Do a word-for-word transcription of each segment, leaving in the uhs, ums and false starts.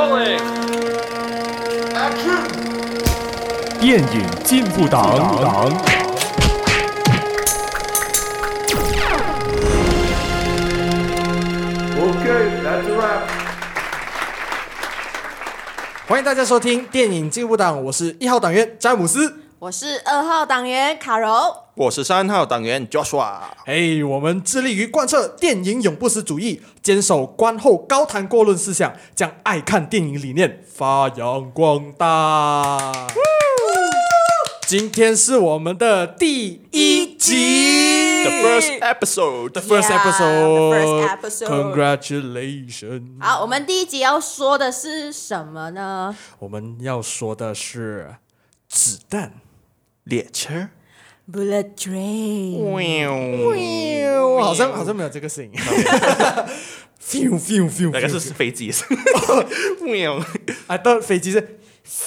Rolling. Action. 電影進步黨。 Okay, that's a wrap. 歡迎大家收聽電影進步黨，我是一號黨員詹姆斯， 我是二號黨員卡柔， 我是三號黨員 Joshua。 嘿，我們致力於貫徹電影永不死主義，堅守觀後高談過論思想，將愛看電影理念發揚光大。今天是我們的第一集 The first episode. The first Yeah, episode. the first episode. Congratulations. 好，我們第一集要說的是什麼呢？ 我們要說的是子彈列車 Bullet Train。 好像好像沒有這個聲音。fiu fiu fiu， 那個是飛機。 I thought 飛機是。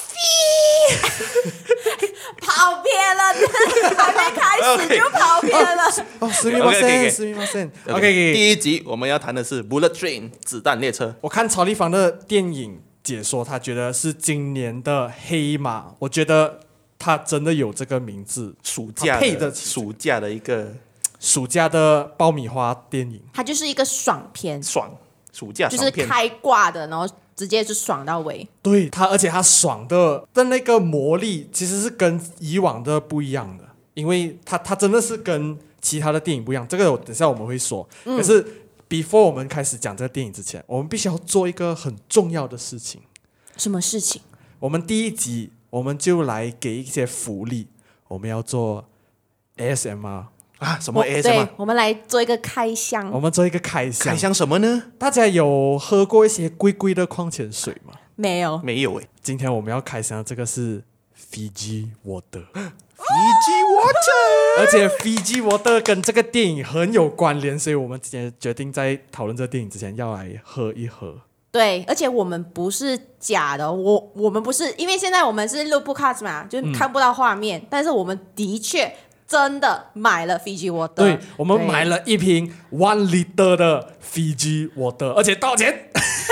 跑偏了，還沒開始就跑偏了。 哦，すみません，すみません。OK， 第一集我們要談的是 Bullet Train 子彈列車。 我看曹立芳的電影解說，他覺得是今年的黑馬。我覺得他真的有這個名字， 暑假配的暑假的一個暑假的爆米花電影。 它就是一個爽片， 爽暑假就是開掛的，然後直接就爽到尾。 對他，而且他爽的的那個魔力其實是跟以往的不一樣的，因為他他真的是跟其他的電影不一樣。這個等下我們會說。嗯、可是 before 我們開始講這個電影之前，我們必須要做一個很重要的事情。 什麼事情？ 我們第一集我們就來給一些福利，我們要做 A S M R。 啊，什麼 A S M R？ 對，我們來做一個開箱。 我們做一個開箱。 開箱什麼呢？ 大家有喝過一些貴貴的礦泉水嗎？ 沒有， 沒有誒。 今天我們要開箱的這個是 Fiji Water。Fiji Water， 而且 Fiji Water 跟這個電影很有關聯，所以我們今天決定在討論這個電影之前要來喝一喝。 對，而且我們不是假的，我我們不是，因為現在我們是錄 podcast 嘛，就看不到畫面，嗯、但是我們的確。真的買了 Fiji Water， 對，我們買了一瓶 one liter 的 Fiji Water， 而且多少錢？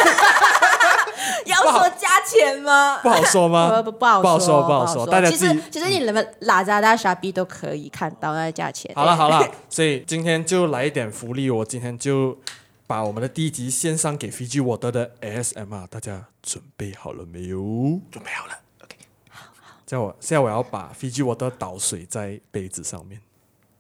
要說價錢嗎？ 不好說嗎？ 不, 不好說， 不好說，不好說。大家其實其實你們 Lazada、Shopee 都可以看到那個價錢。 好了好了，所以今天就來一點福利，我今天就把我們的第一集獻上給 Fiji Water 的 A S M R， 大家準備好了沒有？ 準備好了。 現在我現在我要把 Fiji Water 倒水在杯子上面，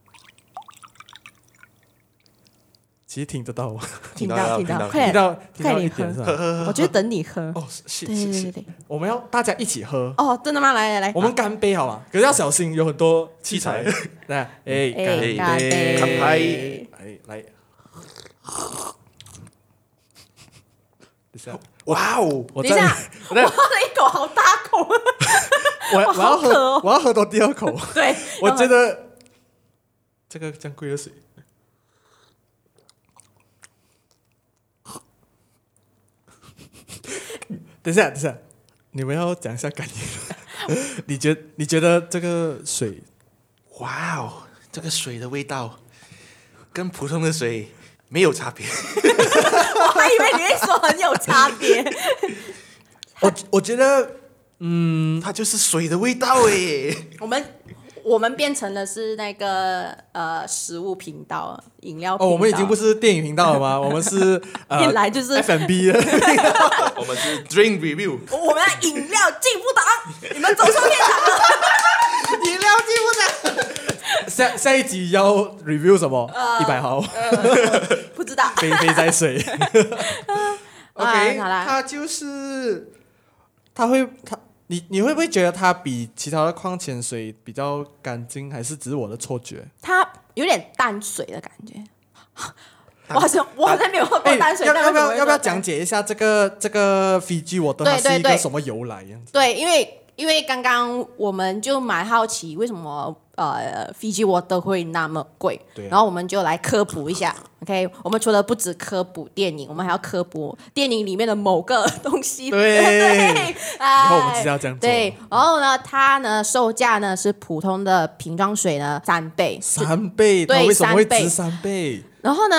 其實聽得到嗎？ 聽到聽到， 快點快點喝，喝喝喝，我就等你喝。 哦，是對對對對， 我們要大家一起喝。 哦，真的嗎？來來來， 我們乾杯好嗎？可是要小心，有很多器材。來，哎，乾杯， 乾杯， 乾杯， 來來。等下， 哇哦！ 我等一下，我喝了一口，好大口。 我我要喝，哦、我要喝到第二口。 對， 我覺得這個這樣貴的水。等一下，等一下，你們要講一下感言。你覺得你覺得這個水， 哇哦，這個水的味道跟普通的水沒有差別。 我還以為你會說很有差別。 我我覺得。嗯， 它就是水的味道誒。 我們我們變成的是那個呃食物頻道、飲料頻道。 哦，我們已經不是電影頻道了嗎？我們是呃， 一來就是 F and B 的。 我們是 Drink Review。 我們的飲料進步黨，你們走錯片場了。 飲料進步黨。下下一集要 review 什麼？一百、呃、毫。 呃、不知道。 飛飛在水。OK，、 啊、好啦， 它就是，它會它。你你會不會覺得它比其他的礦泉水比較乾淨，還是只是我的錯覺？ 它有點淡水的感覺。我好像我好像沒有喝過淡水。 要要不要要不要講解一下這個這個 Fiji Water 它是一個什麼由來樣子？ 對，因為因為剛剛我們就蠻好奇為什麼呃 Fiji Water 會那麼貴，對啊、然後我們就來科普一下。OK， 我們除了不只科普電影，我們還要科普電影裡面的某個東西。 對， 對， 以後我們知道這樣做。 對，然後呢，它呢售價呢是普通的瓶裝水呢三倍， 三倍，它為什麼會值三倍？ 然後呢？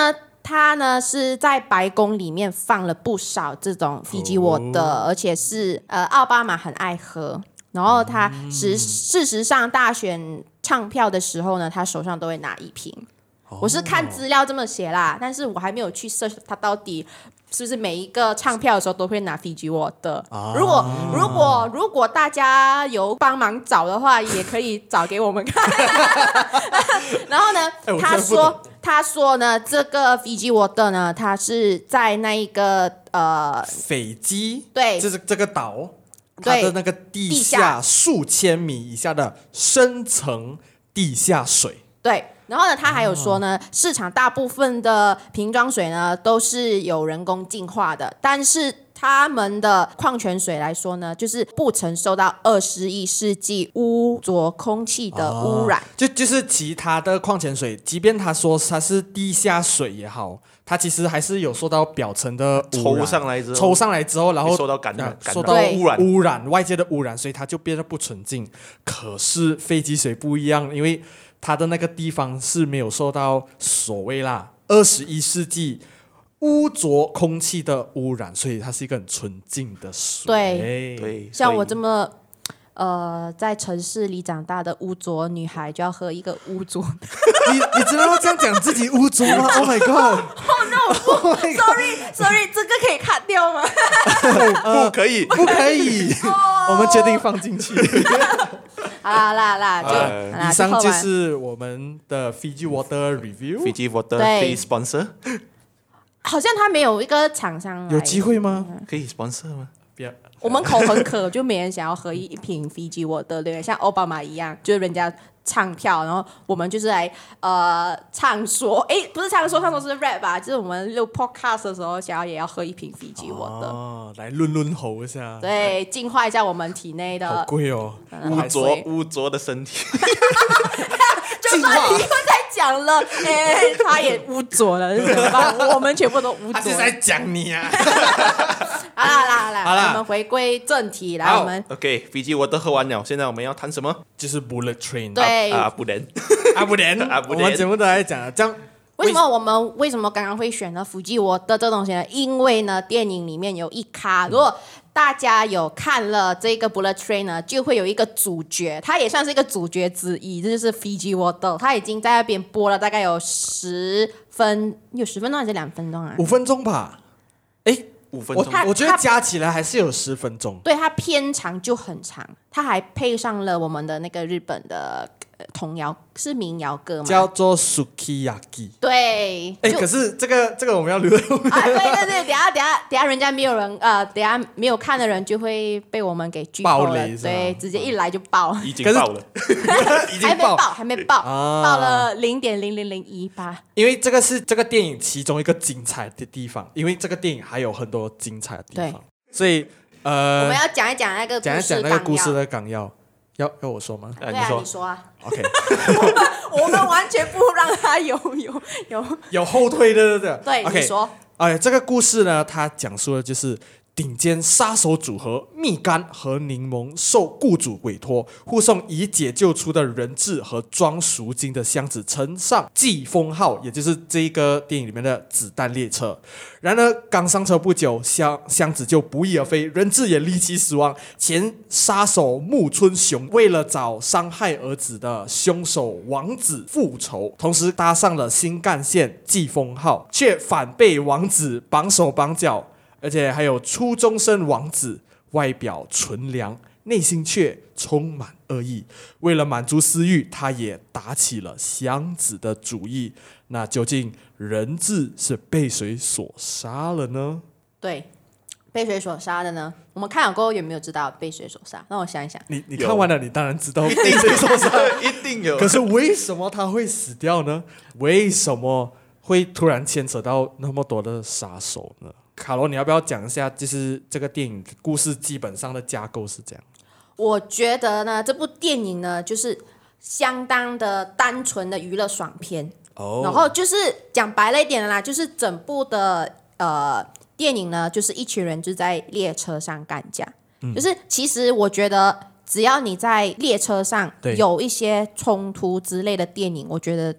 他呢是在白宮裡面放了不少這種 Fiji Water，、哦、而且是呃奧巴馬很愛喝。然後他實、嗯、事實上大選唱票的時候呢，他手上都會拿一瓶。哦、我是看資料這麼寫啦，但是我還沒有去 search 他到底是不是每一個唱票的時候都會拿 Fiji Water。哦、如果如果如果大家有幫忙找的話，也可以找給我們看。然後呢，欸、他說他說呢，這個 Fiji Water 呢，它是在那一個呃斐濟， 對， 就是這個島。它的那個地下數千米以下的深層地下水。 對，然後呢，他還有說呢，哦、市場大部分的瓶裝水呢都是有人工淨化的，但是他們的礦泉水來說呢，就是不曾受到二十一世紀污濁空氣的污染。哦、 就就是其他的礦泉水，即便他說它是地下水也好，它其實還是有受到表層的污染， 抽上來之後， 抽上來之後，然後受到感染， 呃、受到污染，污染外界的污染，所以它就變得不純淨。可是斐濟水不一樣，因為它的那個地方是沒有受到所謂啦二十一世紀污濁空氣的污染，所以它是一個很純淨的水。 對对，像我這麼呃在城市裡長大的污濁女孩，就要喝一個污濁。 你你真的要這樣講自己污濁嗎 ？Oh my god！Oh no！Sorry Sorry， 這個可以卡掉嗎？ 不可以， 不可以。我們決定放進去。 好啦啦啦，就、 呃、以上就是我們的 Fiji Water Review。Fiji Water please sponsor。 好像他沒有一個廠商來， 有機會嗎？ 嗯、 可以 sponsor 嗎？ 不要。 我們口很渴，就沒人想要喝一瓶 Fiji Water， 對，像奧巴馬一樣，就是人家唱票，然後我們就是來呃唱說，哎，不是唱說，唱說是 rap 吧？就是我們錄 podcast 的時候，想要也要喝一瓶 Fiji Water， 哦，來潤潤喉一下， 對，淨化一下我們體內的。 好貴哦， 污濁污濁的身體。 就算你又在講了，哎，他也污濁了，是怎麼辦？我們全部都污濁。 他是在講你啊！ 好啦好啦好啦，好啦，我們回歸正題，來，我們 OK，Fiji Water喝完了，現在我們要談什麼？ 就是 Bullet Train。 對啊，不能， 啊不能，啊不能。我們全部都在講這樣。 為什麼我們為什麼剛剛會選了 Fiji Water 這東西呢？因為呢，電影裡面有一咖，如果大家有看了這個 Bullet Train 呢，就會有一個主角，他也算是一個主角之一，這就是 Fiji Water。他已經在那邊播了大概有十分，有十分鐘還是兩分鐘啊？ 五分鐘吧。哎，五分鐘。我我覺得加起來還是有十分鐘。 對，它片長就很長，它還配上了我們的那個日本的。童謠是民謠歌嗎？ 叫做 Sukiyaki。 對， 哎，可是這個這個我們要留在後面。 啊，對對對，等下等下等下，人家沒有人呃，等下沒有看的人就會被我們給劇透了。對，直接一來就爆， 已經爆了， 已經爆， 還沒爆，爆了零點零零零一八。 因為這個是這個電影其中一個精彩的地方，因為這個電影還有很多精彩的地方，所以呃， 我們要講一講那個講一講那個故事的綱要。要要我說嗎？ 對啊，你說啊。 OK， 我們我們完全不讓他有有有有後退的，對不對？ 對，你說。 哎，這個故事呢，它講述的就是頂尖殺手組合蜜柑和檸檬受雇主委託，護送已解救出的人質和裝贖金的箱子乘上季風號，也就是這個電影裡面的子彈列車。然而剛上車不久，箱箱子就不翼而飛，人質也離奇死亡。前殺手木村雄為了找傷害兒子的兇手王子復仇，同時搭上了新幹線季風號，卻反被王子綁手綁腳。而且還有初中生王子，外表純良，內心卻充滿惡意。為了滿足私慾，他也打起了箱子的主意。那究竟人質是被誰所殺了呢？ 對，被誰所殺的呢？我們看了過後有沒有知道被誰所殺？讓我想一想。 你你看完了，你當然知道被誰所殺， 一定有。 可是為什麼他會死掉呢？為什麼會突然牽扯到那麼多的殺手呢？卡羅，你要不要講一下，就是這個電影故事基本上的架構是這樣？ 我覺得呢，這部電影呢，就是相當的單純的娛樂爽片。哦。然後就是講白了一點啦，就是整部的呃電影呢，就是一群人就在列車上幹架。嗯。就是其實我覺得，只要你在列車上有一些衝突之類的電影，我覺得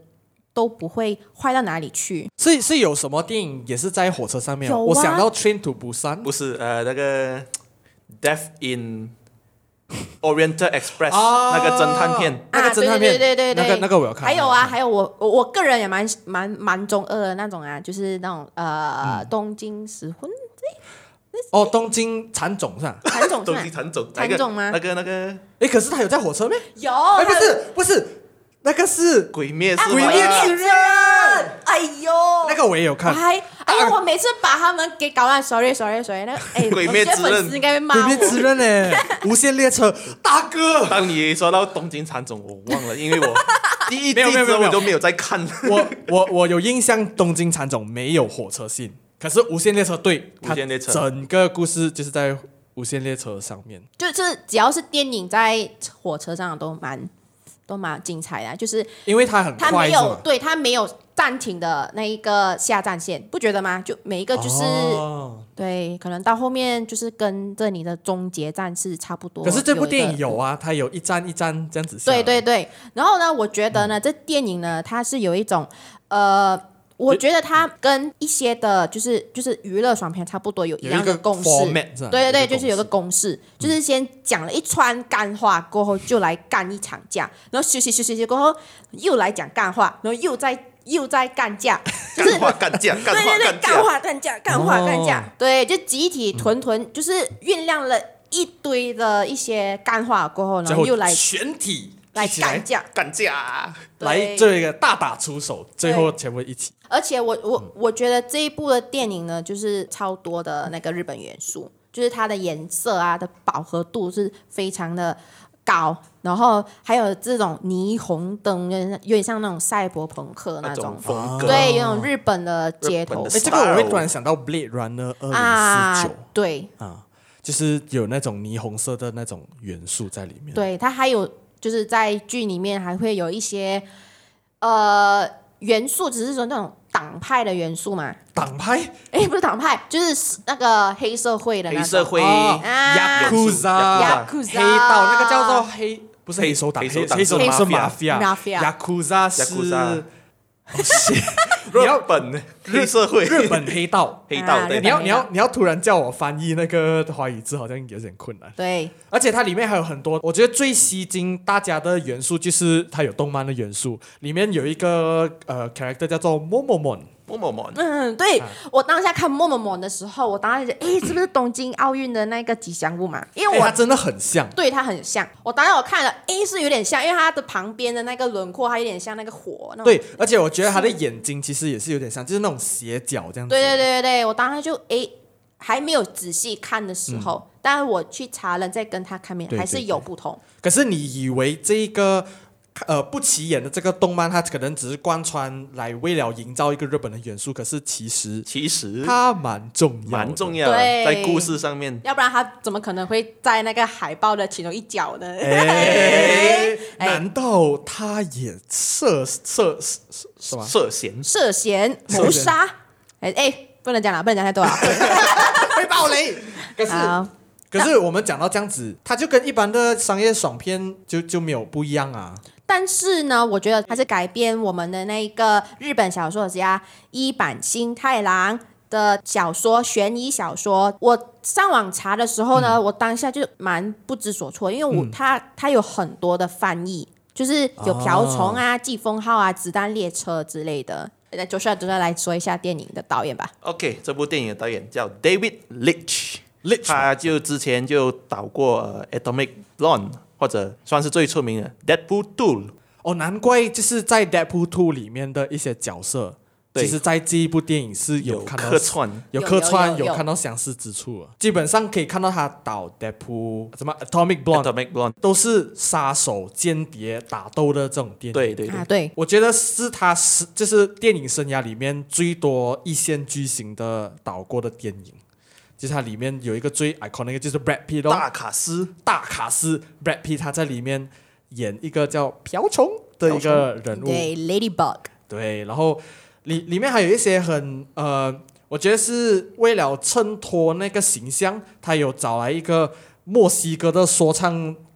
都不會壞到哪裡去。 是是有什麼電影也是在火車上面？ 有啊， 我想到 Train to Busan， 不是呃那個 Death in Oriental Express、 啊、 那個偵探片， 那個偵探片， 啊、對對對對對， 那個那個我有看。 還有啊，還有我我我個人也蠻蠻蠻中二的那種啊，就是那種呃、嗯、東京食魂。 哦，東京喰種是吧？ 喰種是東京喰種， 喰種嗎？ 那個那個， 哎，可是他有在火車咩？ 有， 哎，不是不是，那個是鬼滅啊， 鬼滅之刃。 哎呦， 那個我也有看。 哎，哎呦，我每次把他們給搞亂 ，sorry sorry sorry，那個哎， 鬼滅之刃粉絲應該會罵我。 鬼滅之刃哎，無限列車大哥。 當你說到東京喰種，我忘了，因為我第一季之後我就沒有再看。 我我我有印象，東京喰種沒有火車線。可是無限列車對， 無限列車整個故事就是在無限列車上面， 就是只要是電影在火車上都蠻都蠻精彩的，就是因為它很快， 它沒有對它沒有暫停的那一個下站線，不覺得嗎？就每一個就是、哦、對，可能到後面就是跟着你的終結站是差不多。 可是這部電影有啊，它有一站一站這樣子下。 對對對，然後呢，我覺得呢，嗯、這電影呢，它是有一種呃。我覺得它跟一些的，就是就是娛樂爽片差不多，有一樣的公式。對對對，就是有個公式，嗯、就是先講了一串幹話過後，就來幹一場架，然後休息休息休息過後，又來講幹話，然後又在又在幹架，就是幹話幹架，幹話對對對， 幹架， 幹話幹架，幹話幹架， 哦、 對，就集體囤囤，嗯、就是醞釀了一堆的一些幹話過後，然後又來全體。 來幹架， 幹架， 來這個大打出手，最後全部一起。 而且我我我覺得這一部的電影呢，就是超多的那個日本元素，就是它的顏色啊的飽和度是非常的高，然後還有這種霓虹燈，有點像那種賽博朋克那種風格， 對，有種日本的街頭。 哎，這個我會突然想到《Blade Runner 二零四九》， 對啊，就是有那種霓虹色的那種元素在裡面。 對，它還有。就是在劇裡面還會有一些呃元素，只是說那種黨派的元素嘛。 黨派？ 哎，不是黨派，就是那個黑社會的那種。 黑社會啊 ，Yakuza，黑道那個叫做黑，不是黑手黨，黑手黨是 mafia，Yakuza 是。 日本黑社會， 日本黑道， 黑道。對， 你要你要你要突然叫我翻譯那個華語字，好像有點困難。 對， 而且它裡面還有很多，我覺得最吸睛大家的元素就是它有動漫的元素，裡面有一個呃 character 叫做 Momomon。 Momomon， 嗯，对、啊、我當下看 Momomon 的時候，我當時覺得，哎，是不是東京奧運的那個吉祥物嘛？因為我它真的很像， 對，它很像。我當時我看了，哎，是有點像，因為它的旁邊的那個輪廓，它有點像那個火。那對，而且我覺得它的眼睛其實也是有點像，就是那種斜角這樣子。 對對對對，我當時就哎還沒有仔細看的時候，嗯、但是我去查了再跟他看面，還是有不同。 可是你以為這個？呃，不起眼的這個動漫，它可能只是貫穿來為了營造一個日本的元素，可是其實其實它蠻重要， 蠻重要的，在故事上面。 要不然它怎麼可能會在那個海報的其中一角呢？ 哎，難道它也涉涉是嗎？ 涉嫌涉嫌謀殺？哎哎，不能講了，不能講太多了， 會爆雷。可是。可是我們講到這樣子，它就跟一般的商業爽片就就沒有不一樣啊。 但是呢，我覺得它是改編我們的那個日本小說家伊坂幸太郎的小說，懸疑小說。我上網查的時候呢，嗯、我當下就蠻不知所措，因為我、嗯、它它有很多的翻譯，就是有瓢蟲啊、季風號啊、子彈列車之類的。那就需要就要來說一下電影的導演吧。 OK， 這部電影的導演叫 David Leitch。他就之前就導過、呃、Atomic Blonde， 或者算是最出名的 Deadpool 二。 哦，難怪就是在 Deadpool 二裡面的一些角色，其實在這一部電影是有看到客串， 有客串，有，有，有，有， 有看到相似之處。基本上可以看到他導 Deadpool 什麼 Atomic Blonde，Atomic Blonde 都是殺手、間諜、打鬥的這種電影。 對對對， 啊、對， 我覺得是他是就是電影生涯裡面最多一線巨星的導過的電影。就是它裡面有一個最 iconic 就是 Brad Pitt 大卡司， 大卡司 Brad Pitt 他在裡面演一個叫瓢蟲的一個人物， 對 Ladybug， 對，然後裡裡面還有一些很呃，我覺得是為了襯托那個形象，他有找來一個墨西哥的說唱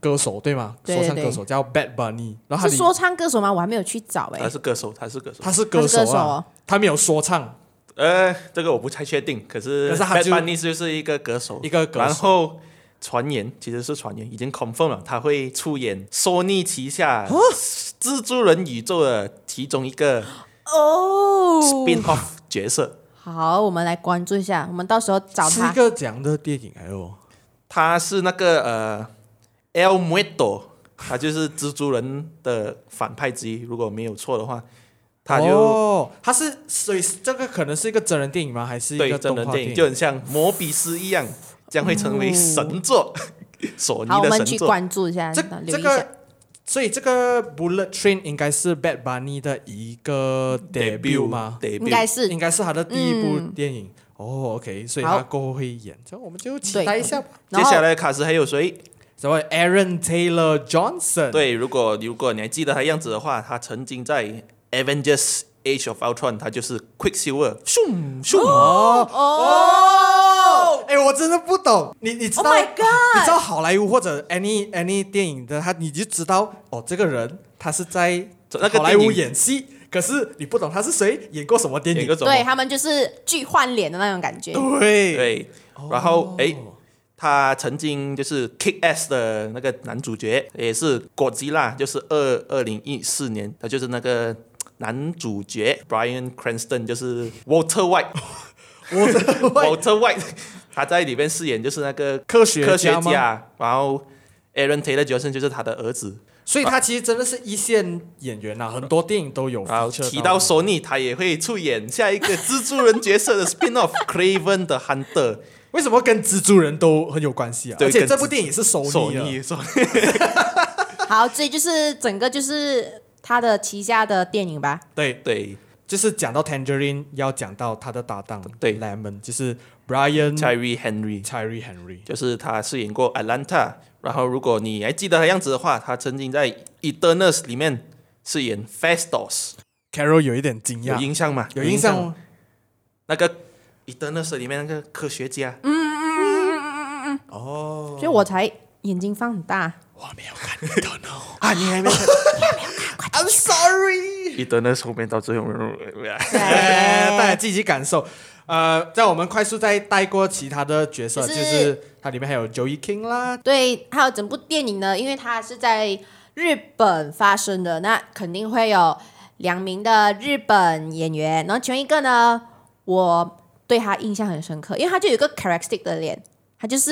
歌手對嗎？ 對對對說唱歌手叫 Bad Bunny， 然後他是說唱歌手嗎？我還沒有去找哎、欸。 他是歌手，他是歌手， 他是歌手啊，他, 手哦、他沒有說唱。 呃，這個我不太確定，可是 Bad Bunny 就是一個歌手， 一個歌手。 然後傳言其實是傳言，已經 confirm 了，他會出演 Sony 旗下蜘蛛人宇宙的其中一個哦 spin-off 角色。 好，我們來關注一下，我們到時候找他。 是一個這樣的電影哎呦， 他是那個呃 El Muerto， 他就是蜘蛛人的反派之一，如果沒有錯的話。他就哦，他是所以這個可能是一個真人電影嗎？還是一個動畫電影？ 真人電影就很像摩比斯一樣，將會成為神作，哦、索尼的神作。 好，我們去關注一下， 這留意一下。 這個，所以這個 Bullet Train 應該是 Bad Bunny 的一個 debut 嗎？ debut 應該是， 應該是他的第一部電影。嗯、哦 ，OK， 所以他過後會演，這樣我們就期待一下吧。 接下來卡斯還有誰？ 什麼 Aaron Taylor Johnson？ 對，如果如果你還記得他樣子的話，他曾經在Avengers Age of Ultron， 他就是 Quicksilver， 咻咻哦哦！哎，我真的不懂，你你知道 Oh my God 你知道好萊塢或者 any any 電影的他，你就知道哦，這個人他是在好萊塢演戲，可是你不懂他是誰，演過什麼電影？ 對，他們就是劇換臉的那種感覺。 對對，然後哎。哦他曾經就是 Kick-Ass 的那個男主角，也是 Godzilla， 就是二二零一四年，他就是那個男主角 Bryan Cranston， 就是 Walter White，Walter Walter White， 他在裡面飾演就是那個科學科學家，然後 Aaron Taylor Johnson 就是他的兒子， 所以他其實真的是一線演員啊，很多電影都有。 然後提到索尼，他也會出演下一個蜘蛛人角色的 spin-off Kraven the Hunter。 為什麼跟蜘蛛人都很有關係啊？而且這部電影是索尼的。 好，這就是整個就是他的旗下的電影吧？ 對對， 就是講到 Tangerine 要講到他的搭檔對 Lemon， 就是 Brian Tyree Henry Tyree Henry， 就是他飾演過 Atlanta。然後如果你還記得他樣子的話，他曾經在 Eternals 裡面飾演 Phastos。Carol 有一點驚訝， 有印象嗎？ 有印象嗎？ 那個。Eternals 裡面那個科學家， 嗯嗯嗯嗯嗯嗯哦，所以我才眼睛放很大。 我沒有看 Eternals 啊，你還沒看？ 看 I'm sorry。 Eternals 後面到最後， 大家自己感受。呃，在我們快速再帶過其他的角色，就是、就是它裡面還有 Joey King 啦。 對，還有整部電影呢，因為它是在日本發生的，那肯定會有兩名的日本演員，然後其中一個呢，我。對他印象很深刻，因為他就有一個 characteristic 的臉，他就是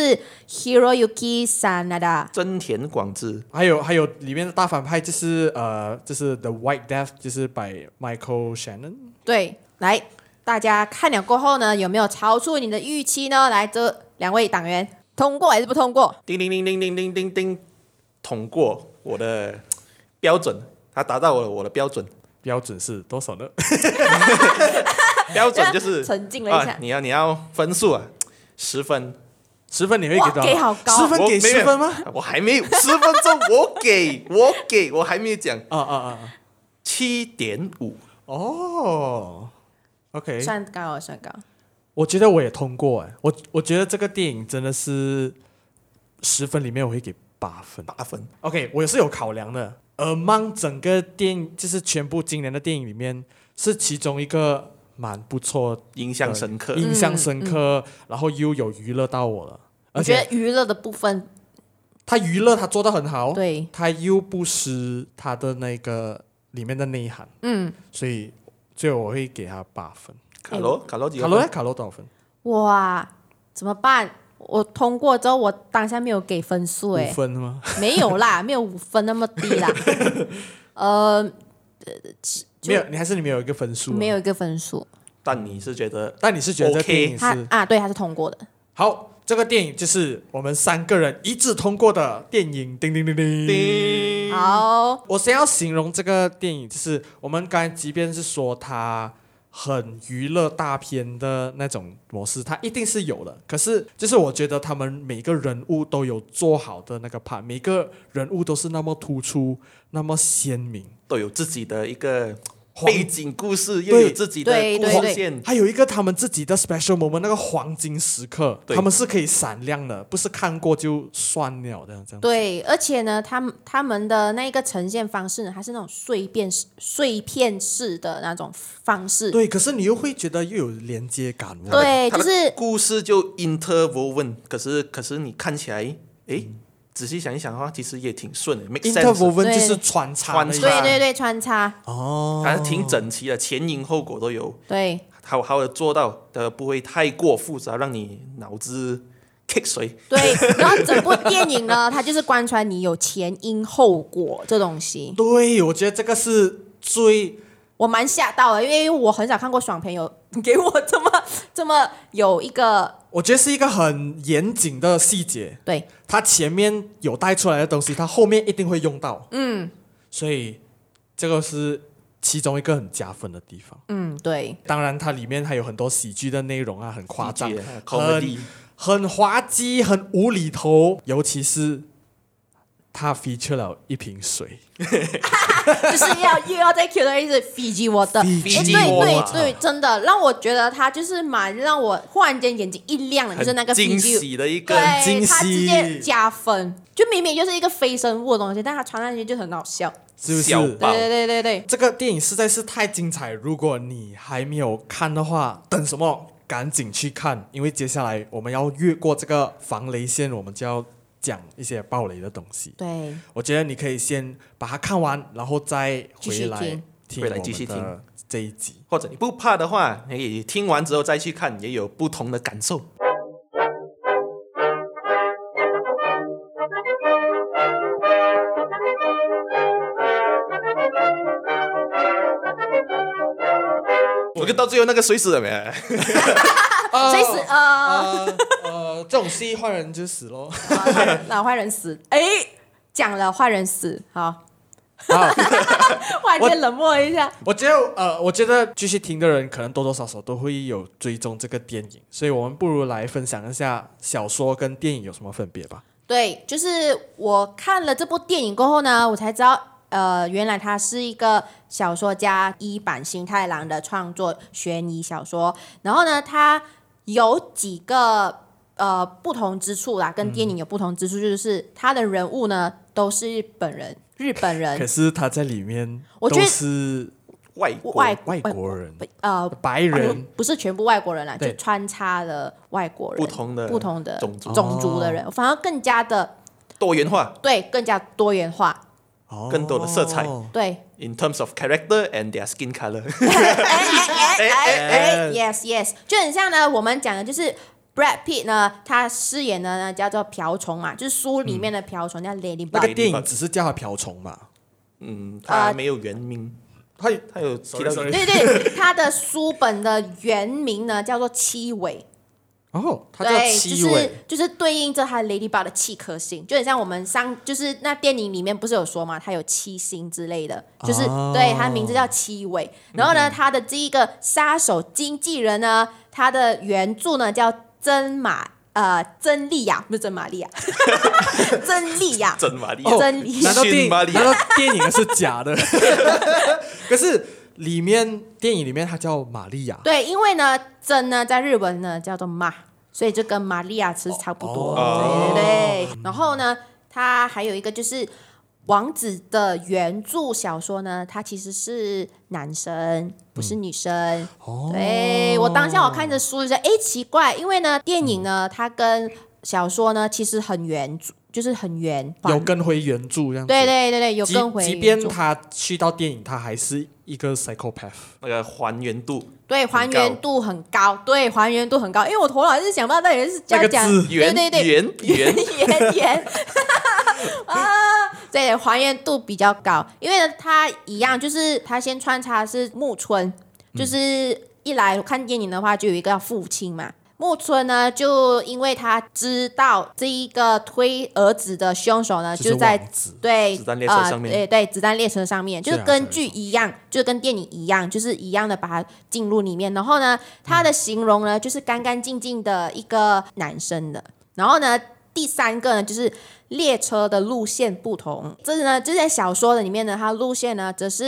Hiroyuki Sanada， 真田廣志， 還有還有裡面的大反派就是呃，就是 The White Death， 就是 by Michael Shannon。 對，來，大家看了過後呢，有沒有超出你的預期呢？來，這兩位黨員通過還是不通過？ 叮叮叮叮叮叮叮叮，通過我的標準，他達到了我的標準。 標準是多少呢？ 標準就是沉浸了一下、 啊、你要你要分數啊，十分， 十分你會給多少？ 給好高， 十分給十分嗎？ 我, 我還沒有十分鐘，我給我給我還沒有講啊啊啊！ 七點五哦 ，OK， 算高算高。 我覺得我也通過哎，我我覺得這個電影真的是十分裡面我會給八分， 八分。 OK， 我也是有考量的。Among 整個電影就是全部今年的電影裡面，是其中一個蠻不錯、 印象深刻、 印象深刻，嗯嗯、然後又有娛樂到我了。 我覺得娛樂的部分， 他娛樂他做得很好， 對， 他又不失他的那個裡面的內涵，嗯，所以最後我會給他八分。 卡羅，卡羅幾卡羅卡羅多少分？ 哇，怎麼辦？我通過之後，我當下沒有給分數，哎， 五分嗎？ 沒有啦，沒有五分那麼低啦。呃， 沒有，你還是你沒有一個分數、啊， 沒有一個分數。 但你是覺得， 但你是覺得這電影是 OK 啊？對，它是通過的。 好，這個電影就是我們三個人一致通過的電影。叮叮叮叮叮。 好， 我先要形容這個電影，就是我們剛才即便是說它很娛樂大片的那種模式，它一定是有的。可是，就是我覺得他們每個人物都有做好的那個 part， 每個人物都是那麼突出，那麼鮮明， 都有自己的一個背景故事又有自己的故事線， 還有一個他們自己的 special moment， 那個黃金時刻，他們是可以閃亮的，不是看過就算了的這樣。 對，而且呢，他們他們的那個呈現方式呢，還是那種碎片碎片式的那種方式。 對，可是你又會覺得又有連接感。 對，就是故事就 interwoven， 可是可是你看起來，誒。仔細想一想的話，其實也挺順的 make sense。 interwoven 就是穿插， 穿插， 對對對，穿插。 哦， 還是挺整齊的，前因後果都有。 對， 好好的做到的，不會太過複雜，讓你腦子 kick 水。 對，然後整部電影呢，它就是貫穿你有前因後果這東西。 對，我覺得這個是最。 我蠻嚇到的，因為我很少看過爽片有給我這麼這麼有一個， 我覺得是一個很嚴謹的細節。 對， 它前面有帶出來的東西，它後面一定會用到。 嗯， 所以這個是其中一個很加分的地方。 嗯，對。 當然，它裡面還有很多喜劇的內容啊，很誇張， 很很滑稽，很無厘頭，尤其是。他 feature 了一瓶水， 就是要又要再 cue 到一次 Fiji Water， Fiji 對 Water 對對，真的讓我覺得他就是蠻讓我忽然間眼睛一亮的，就是那個 Fiji， 驚喜的一個對，他直接加分，就明明就是一個非生物的東西，但他傳上去就很好笑， 是不是？ 對對對對對， 這個電影實在是太精彩，如果你還沒有看的話，等什麼？趕緊去看，因為接下來我們要越過這個防雷線，我們就要講一些爆雷的東西。 對， 我覺得你可以先把它看完，然後再回來聽， 回來繼續聽這一集。 或者你不怕的話，你可以聽完之後再去看，也有不同的感受。我就到最後那個誰死了沒？ 誰死？呃呃，這種戲壞人就死咯。 那壞人死，哎，講了壞人死，好，好，忽然間冷漠一下。 我，我覺得呃，我覺得繼續聽的人可能多多少少都會有追蹤這個電影，所以我們不如來分享一下小說跟電影有什麼分別吧。 對，就是我看了這部電影過後呢，我才知道。呃，原來他是一個小說家伊坂幸太郎的創作懸疑小說，然後呢，他有幾個呃不同之處啦，跟電影有不同之處，就是他的人物呢都是日本人，日本人， 可是他在裡面都是外國外外國人， 呃， 白人， 不是全部外國人啦，就穿插了外國人， 不同的不同的種族種族的人，反而更加的多元化， 對，更加多元化。 更多的色彩， 對 ，in terms of character and their skin color， 哎哎哎 ，yes yes， 就很像呢，我們講的就是 Brad Pitt 呢，他飾演的呢叫做瓢蟲嘛，就是書裡面的瓢蟲、嗯、叫 Ladybug， 那個電影只是叫他瓢蟲嘛， 嗯，他沒有原名，呃、他他有提到， 對對，他的書本的原名呢叫做七尾。 哦，它叫七尾， 就是就是對應着它 Ladybug 的七顆星，就很像我們上就是那電影裡面不是有說嘛，它有七星之類的，就是、哦、對，它名字叫七尾。然後呢，它的這一個殺手經紀人呢，他的原著呢叫真瑪呃真莉亞，不是真瑪利亞，真莉亞， 真瑪利亞， 真莉亞。 難道電難道電影是假的？可是。裡面電影裡面它叫瑪利亞， 對，因為呢真呢在日文呢叫做瑪，所以就跟瑪利亞其實差不多，哦、對對對。然後呢，它還有一個就是王子的原著小說呢，它其實是男生，不是女生。嗯哦、對，我當下我看着書就說，哎，奇怪，因為呢電影呢它跟小說呢其實很原著。就是很圓， 有跟回原著這樣子。 對對對對，有跟回原著。 即便他去到電影，他還是一個 psychopath， 那個還原度， 對，還原度很高，對，還原度很高。因為我頭腦是想到那也是這樣講，對對對， 圓圓圓圓啊，對，還原度比較高，因為他一樣，就是他先穿插是木村，就是一來看電影的話，就有一個叫父親嘛。木村呢，就因為他知道這一個推兒子的兇手呢，就在對子彈列車上面， 呃、對對，子彈列車上面，就是根據一樣，就是跟電影一樣，就是一樣的把它進入裡面。然後呢，他的形容呢，就是乾乾淨淨的一個男生的。然後呢，第三個呢，就是列車的路線不同，這是呢，就在小說的裡面呢，它路線呢，則是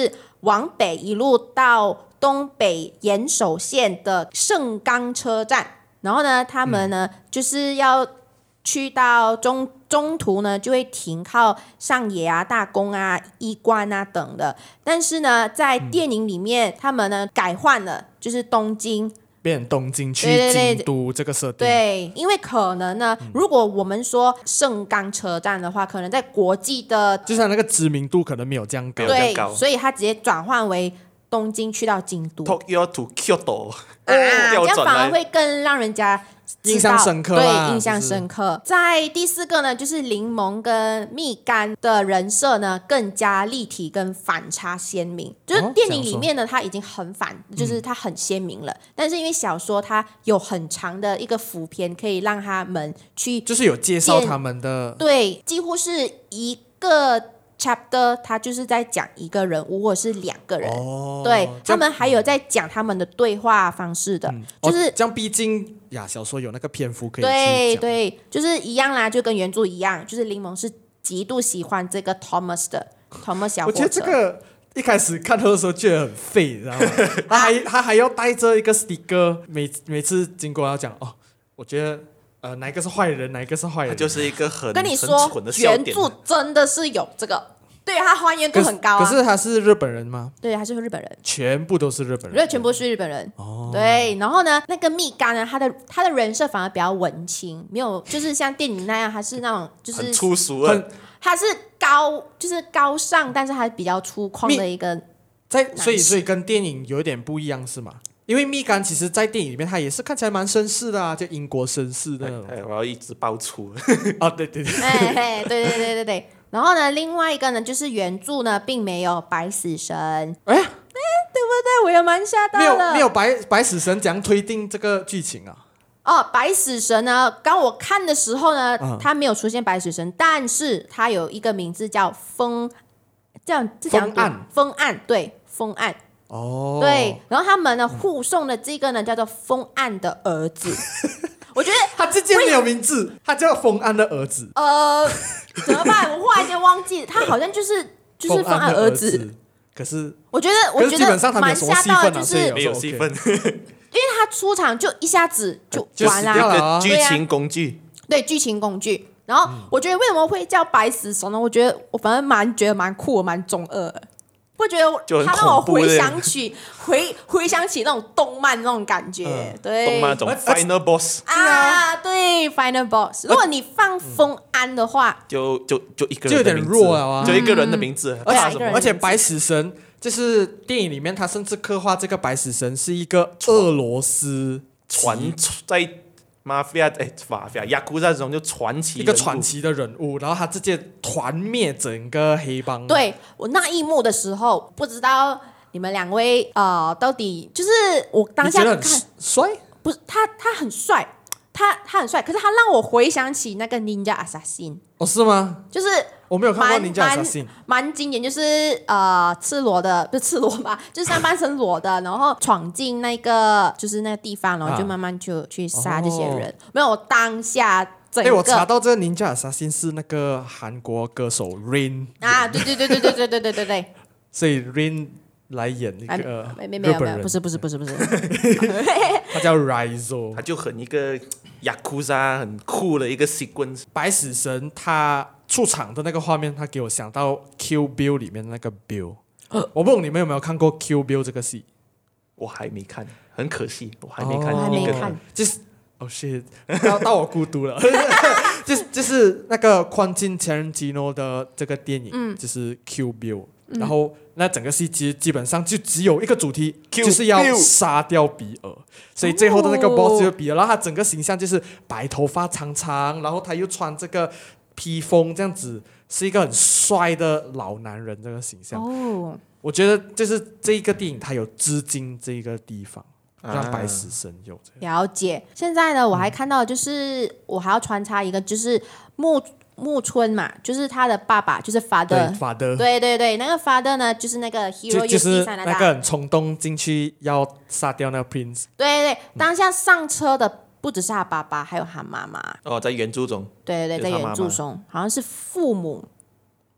往北一路到東北岩手縣的盛岡車站，然後呢，他們呢、嗯、就是要去到中中途呢，就會停靠上野啊、大宮啊、一關啊等的。但是呢，在電影裡面，嗯、他們呢改換了，就是東京。 變東京去京都這個設定， 對，因為可能呢，嗯、如果我們說盛岡車站的話，可能在國際的， 就是那個知名度可能沒有這樣高， 對，所以它直接轉換為東京去到京都 ，Tokyo to Kyoto， 啊，這樣反而會更讓人家印象深刻， 對，印象深刻。就是、在第四個呢，就是檸檬跟蜜柑的人設呢更加立體跟反差鮮明。就是電影裡面呢，它已經很反，就是它很鮮明了。嗯、但是因為小說它有很長的一個伏篇，可以讓他們去， 就是有介紹他們的， 對，幾乎是一個 chapter， 它就是在講一個人物或者是兩個人，哦、對他們還有在講他們的對話方式的，嗯、就是、 哦、這樣，畢竟呀，小說有那個篇幅可以去講， 對對，就是一樣啦，就跟原著一樣，就是檸檬是極度喜歡這個 Thomas 的 Thomas 小伙子。 我覺得這個一開始看他的時候覺得很廢，你知道嗎？他還他還要帶着一個 sticker， 每每次經過要講哦，我覺得。呃，哪一個是壞人，哪一個是壞人？他就是一個很跟你說，原著真的是有這個，對他還原度很高、啊、 可是。可是他是日本人嗎？ 對，他是日本人， 全部都是日本人， 對，全部是日本人。哦，對，然後呢，那個蜜柑呢，他的他的人設反而比較文青，沒有就是像電影那樣，他是那種就是很粗俗的， 他是高就是高尚，但是還比較粗獷的一個。 在所以所以跟電影有點不一樣是嗎？因為蜜柑其實，在電影裡面，他也是看起來蠻紳士的啊，就英國紳士的那種。 哎，我要一直爆粗。 哦，對對對， 哎，對對對對對。然後呢，另外一個呢，就是原著呢，並沒有白死神。哎哎，對不對？我也蠻嚇到的。沒有沒有白白死神，怎樣推定這個劇情啊？ 哦，白死神呢，剛我看的時候呢，嗯、他沒有出現白死神，但是他有一個名字叫風，這樣這樣風暗， 風暗，對，風暗。 哦， 對，然後他們呢護送的這個呢叫做風暗的兒子，我覺得他直接沒有名字，他叫風暗的兒子。 呃，怎麼辦？我忽然間忘記，他好像就是就是風暗兒子。 兒子可是我覺得，我覺得蠻嚇到的，就是沒有戲份， 因為他出場就一下子就完了， 了劇情工具， 對，劇情工具。然後我覺得為什麼會叫白死神呢？我覺得我反正蠻覺得蠻酷的，蠻中二的。會覺得他讓我回想起回回想起那種動漫那種感覺，嗯、對， 動漫那種 Final Boss 啊，對 Final Boss。如果你放風安的話， 嗯、就就就一個人就有點弱了啊， 就一個人的名字。 而且而且白死神就是電影裡面，他甚至刻畫這個白死神是一個俄羅斯傳在。Mafia 哎，法菲亞雅庫薩這種就傳奇一個傳奇的人物，然後他直接團滅整個黑幫。 對，我那一幕的時候，不知道你們兩位呃到底就是我當下看帥， 不是他他很帥，他他很帥，可是他讓我回想起那個 Ninja Assassin。 哦，是嗎？ 就是我沒有看過 Ninja Assassin， 蠻經典，就是呃赤裸的，不是赤裸吧，就是上半身裸的，然後闖進那個就是那個地方，然後就慢慢就去殺這些人。哦、沒有，我當下整個。哎，我查到這個 Ninja Assassin 是那個韓國歌手 Rain 啊，對對對對對對對對對對。 所以 Rain 來演一個日本人， 沒沒沒有沒有，不是不是不是不是， 他叫 Raizo， 他就很一個雅庫薩很酷的一個 sequence。 白死神他出場的那個畫面，他給我想到 Kill Bill 裡面的那個 Bill。我不懂你們有沒有看過 Kill Bill 這個戲？ 我還沒看，很可惜，我還沒看。 我還沒看， 就是哦 shit，到到我孤獨了。就是就是那個 Quentin Tarantino 的這個電影，嗯、就是 Kill Bill。然後那整個戲基基本上就只有一個主題，就是要殺掉比爾，所以最後的那個 boss 就是比爾。然後他整個形象就是白頭髮長長，然後他又穿這個披風，這樣子是一個很帥的老男人這個形象。哦，我覺得就是這一個電影它有致敬這一個地方，讓白死神有這個。 了解。現在呢，我還看到就是、嗯、我還要穿插一個，就是木。木村嘛，就是他的爸爸，就是 father，father， 對對對，那個 father 呢，就是那個 hero， 就就是那個很衝動進去要殺掉那個 prince。 對對對，當下上車的不只是他爸爸，還有他媽媽。 哦，在原著中。 對對對，在原著中好像是父母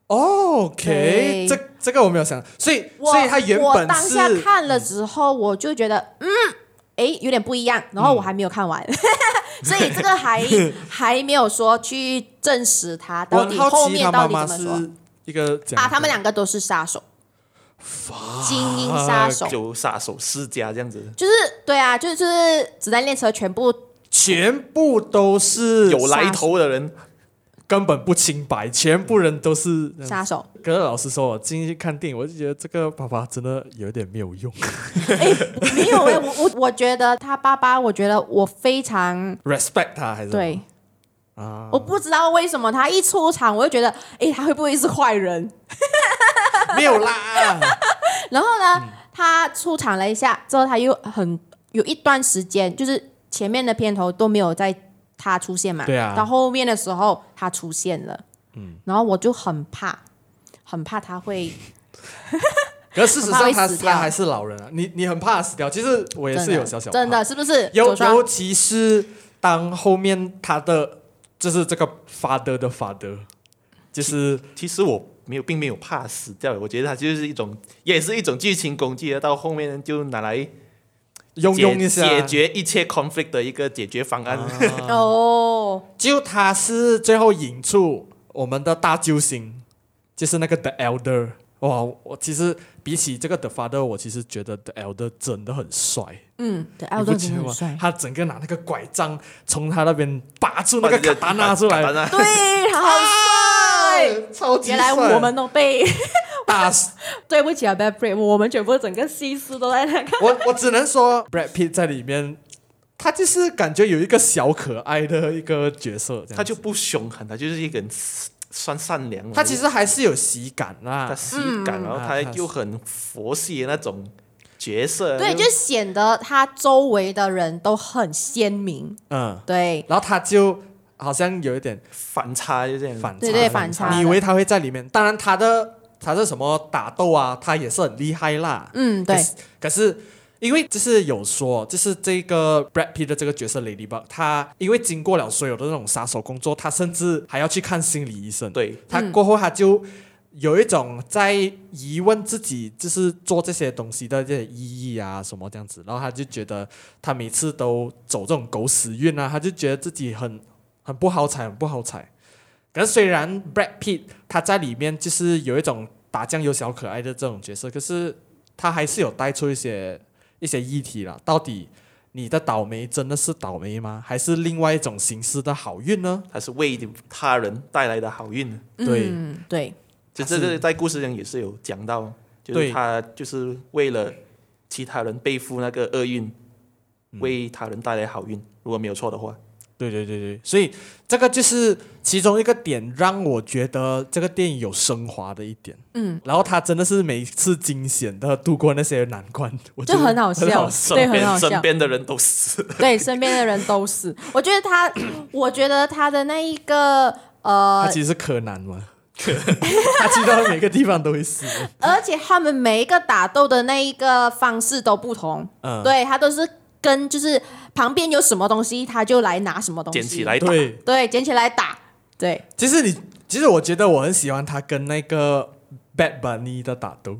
OK，這這個我沒有想，所以所以他原本是我當下看了之後，我就覺得嗯，哎，有點不一樣，然後我還沒有看完，嗯、所以這個還還沒有說去證實他到底後面到底怎麼說。一個啊，他們兩個都是殺手，精英殺手， 就殺手世家這樣子， 就是對啊，就是就是子彈列車全部全部都是有來頭的人。 根本不清白，全部人都是殺手。 可是老實說，我進去看電影，我就覺得這個爸爸真的有點沒有用。 哎，沒有哎，我我我覺得他爸爸，我覺得我非常 respect 他，還是對啊？ 我不知道為什麼他一出場，我就覺得，哎，他會不會是壞人？ 沒有啦。 然後呢，嗯、他出場了一下之後，他又很有一段時間，就是前面的片頭都沒有在。他出現嘛？ 對啊。 到後面的時候，他出現了，嗯，然後我就很怕，很怕他會。 可是事實上他，他他還是老人啊。你你很怕他死掉，其實我也是有小小怕真的，真的是不是？ 尤尤其是當後面他的就是這個 father 的 father，就是其實我沒有，並沒有怕死掉，我覺得他就是一種，也是一種劇情工具，到後面就拿來。 用用一下解決一切 conflict 的一個解決方案。 哦， 就他是最後引出我們的大救星，就是那個 The Elder。哇，我其實比起這個 The Father， 我其實覺得 The Elder 真的很帥。 嗯 The Elder 真的很帥。 他整個拿那個拐杖從他那邊拔出那個卡達納出來， 對，好帥， 超級帥。 原來我們都被。 大對不起啊 Brad Pitt， 我們全部整個戲室都在那看。 我我只能說 Brad Pitt 在裡面，他就是感覺有一個小可愛的一個角色， 他就不兇狠，他就是一個人算善良。 他其實還是有喜感啦， 他喜感，嗯、然後他又很佛系的那種角色， 對，就顯得他周圍的人都很鮮明。嗯，對， 然後他就好像有一點反差，就這樣反差， 對對反差。 你以為他會在裡面？當然他的。他是什麼打鬥啊？他也是很厲害啦。 嗯，對。 可是，可是因為就是有說，就是這個 Brad Pitt 的這個角色 Ladybug，他因為經過了所有的那種殺手工作，他甚至還要去看心理醫生。 對。 他過後他就有一種在疑問自己，就是做這些東西的這些意義啊什麼這樣子。然後他就覺得他每次都走這種狗屎運啊，他就覺得自己很很不好彩，很不好彩。可是雖然 Brad Pitt 他在裡面就是有一種打醬油小可愛的這種角色，可是他還是有帶出一些一些議題啦。到底你的倒霉真的是倒霉嗎？還是另外一種形式的好運呢？ 還是為他人帶來的好運？ 對、 嗯、對， 就這個在故事中也是有講到，就是他就是為了其他人背負那個厄運，為他人帶來好運。如果沒有錯的話。 對對對對，所以這個就是其中一個點，讓我覺得這個電影有升華的一點。嗯，然後他真的是每次驚險的度過那些難關，我覺得就很好笑，對，很好笑。 身邊的人都死， 對，身邊的人都死。我覺得他，我覺得他的那一個呃， 他其實是柯南嘛，他去到每個地方都會死。 而且他們每一個打鬥的那一個方式都不同，嗯，對，他都是。跟就是旁邊有什麼東西，他就來拿什麼東西， 撿起來打， 對對，撿起來打，對。 其實你，其實我覺得我很喜歡他跟那個 Bad Bunny 的打鬥，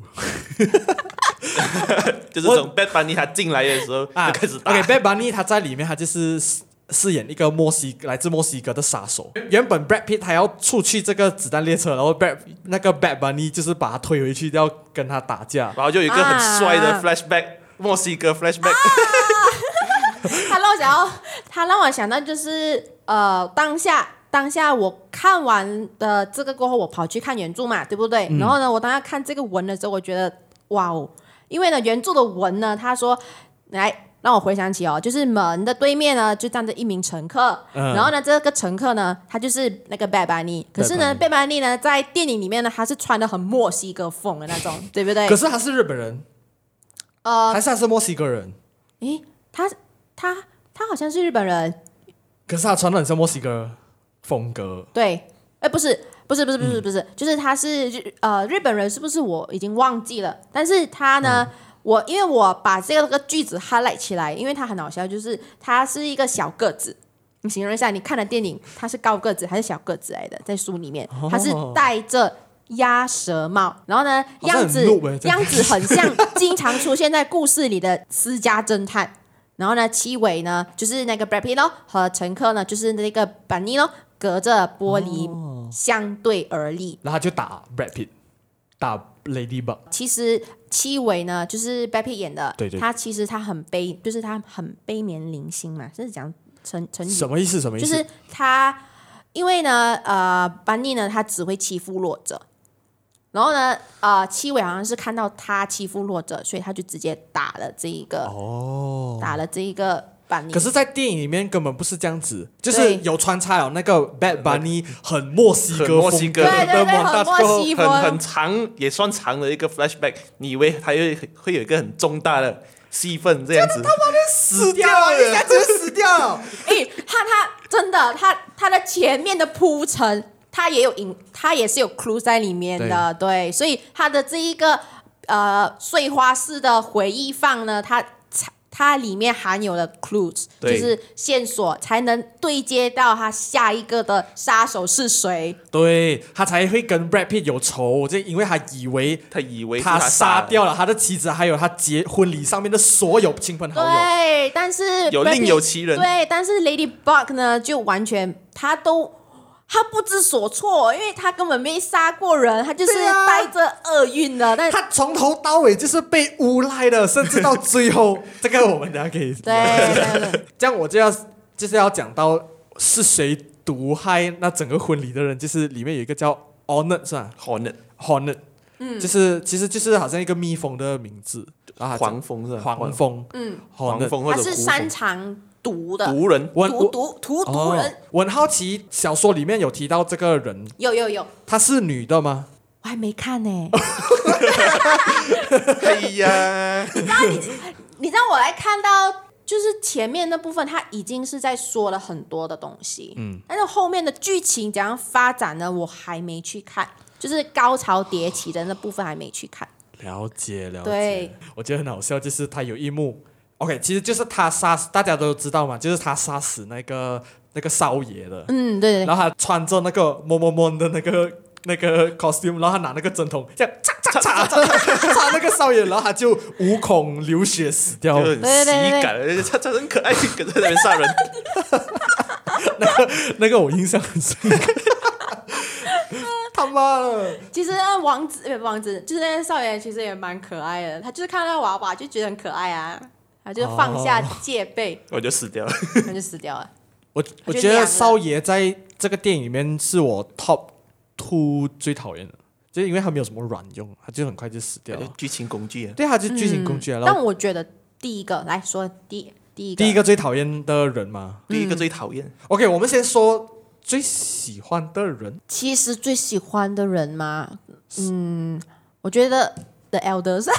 就是從 Bad Bunny 他進來的時候就開始打。 啊、OK，Bad Bunny 他在裡面他就是飾演一個墨西來自墨西哥的殺手。原本 Brad Pitt 他要出去這個子彈列車，然後 Brad 那個 Bad Bunny 就是把他推回去，要跟他打架， 然後就有一個很帥的 flashback，、啊、墨西哥 flashback。啊他讓我想到，他讓我想到就是呃，當下當下我看完的這個過後，我跑去看原著嘛，對不對？嗯、然後呢，我當下看這個文的時候，我覺得哇哦，因為呢，原著的文呢，他說來讓我回想起哦，就是門的對面呢就站着一名乘客，嗯、然後呢，這個乘客呢，他就是那個 Bad Bunny，可是呢 Bad Bunny 呢，在電影裡面呢，他是穿的很墨西哥風的那種，對不對？ 可是他是日本人，呃，還是他是墨西哥人？ 誒，他。他他好像是日本人， 可是他穿的很像墨西哥風格。對， 哎，不是，不是，不是，不是，不是，嗯、就是他是呃日本人，是不是？我已經忘記了。但是他呢，嗯、我因為我把這個句子 highlight 起來，因為他很好笑，就是他是一個小個子。你形容一下，你看的電影，他是高個子還是小個子來的？在書裡面，他是戴着鴨舌帽，然後呢，樣子樣子很像經常出現在故事裡的私家偵探。然後呢，七尾呢就是那個 Brad Pitt 咯，和乘客呢就是那個 Bunny 咯，隔着玻璃相對而立， 哦、然後他就打 Brad Pitt， 打 Ladybug。其實七尾呢就是 Brad Pitt 演的， 對對， 他其實他很悲，就是他很悲憫零星嘛，是講成成語。 什麼意思？什麼意思？ 就是他因為呢，呃 Bunny 呢他只會欺負弱者。然後呢，呃，七尾好像是看到他欺負弱者，所以他就直接打了這一個，哦，打了這一個 Bunny。可是，在電影裡面根本不是這樣子，就是有穿插有那個 Bad Bunny 很墨西哥風， 墨西哥， 對對對，很墨西哥， 很很長，也算長的一個 flashback。你以為他會會有一個很重大的戲份這樣子？ 他媽的死掉了，一下子就死掉了。 哎，他他真的，他他的前面的鋪陳。他也有影，他也是有 clue 在裡面的，對，對，所以他的這一個呃碎花式的回憶放呢，它它裡面含有了 clues， 就是線索，才能對接到他下一個的殺手是誰， 對，他才會跟 Brad Pitt 有仇，就因為他以為他以為他殺掉了他的妻子，還有他結婚禮上面的所有親朋好友， 對，但是有另有其人， 對，但是 Ladybug 呢，就完全他都。他不知所措，因為他根本沒殺過人，他就是帶着厄運的。啊、但他從頭到尾就是被誣賴的，甚至到最後，這個我們等下可以。 對對對， 這樣我就要就是要講到是誰毒害那整個婚禮的人，就是裡面有一個叫 Hornet 是吧 ？Hornet Hornet，嗯，就是其實就是好像一個蜜蜂的名字， 然後黃蜂是吧？ 黃蜂， 嗯， 黃蜂或者它是擅長毒的毒人， 毒毒荼毒人、哦。 我很好奇，小說裡面有提到這個人， 有有有， 她是女的嗎？ 我還沒看呢、 欸。哎呀， 你知道你你知道我來看到，就是前面那部分，他已經是在說了很多的東西，嗯，但是後面的劇情怎樣發展呢？我還沒去看，就是高潮迭起的那部分還沒去看。 了解了解， 對， 我覺得很好笑，就是他有一幕。OK， 其實就是他殺死，大家都知道嘛，就是他殺死那個那個少爺的。 嗯，對對。 然後他穿着那個摸摸摸的那個那個 costume， 然後他拿那個針筒這樣插插插插插那個少爺，然後他就無孔流血死掉了， 就很喜感，他他很可愛，可是在那邊殺人。 那個那個我印象很深刻。他媽的！ 其實那王子呃王子就是那個少爺，其實也蠻可愛的。他就是看到娃娃就覺得很可愛啊。他就放下戒備，哦、 我就死掉了， 他就死掉了。 我我覺得少爺在這個電影裡面是我 top two 最討厭的，就是因為他沒有什麼卵用，他就很快就死掉了。 劇情工具啊， 對，他就是劇情工具啊。 嗯、但我覺得第一個來說第第一個第一個最討厭的人嘛， 第一個最討厭。 OK， 我們先說最喜歡的人。 其實最喜歡的人嘛，嗯，我覺得 The Elders。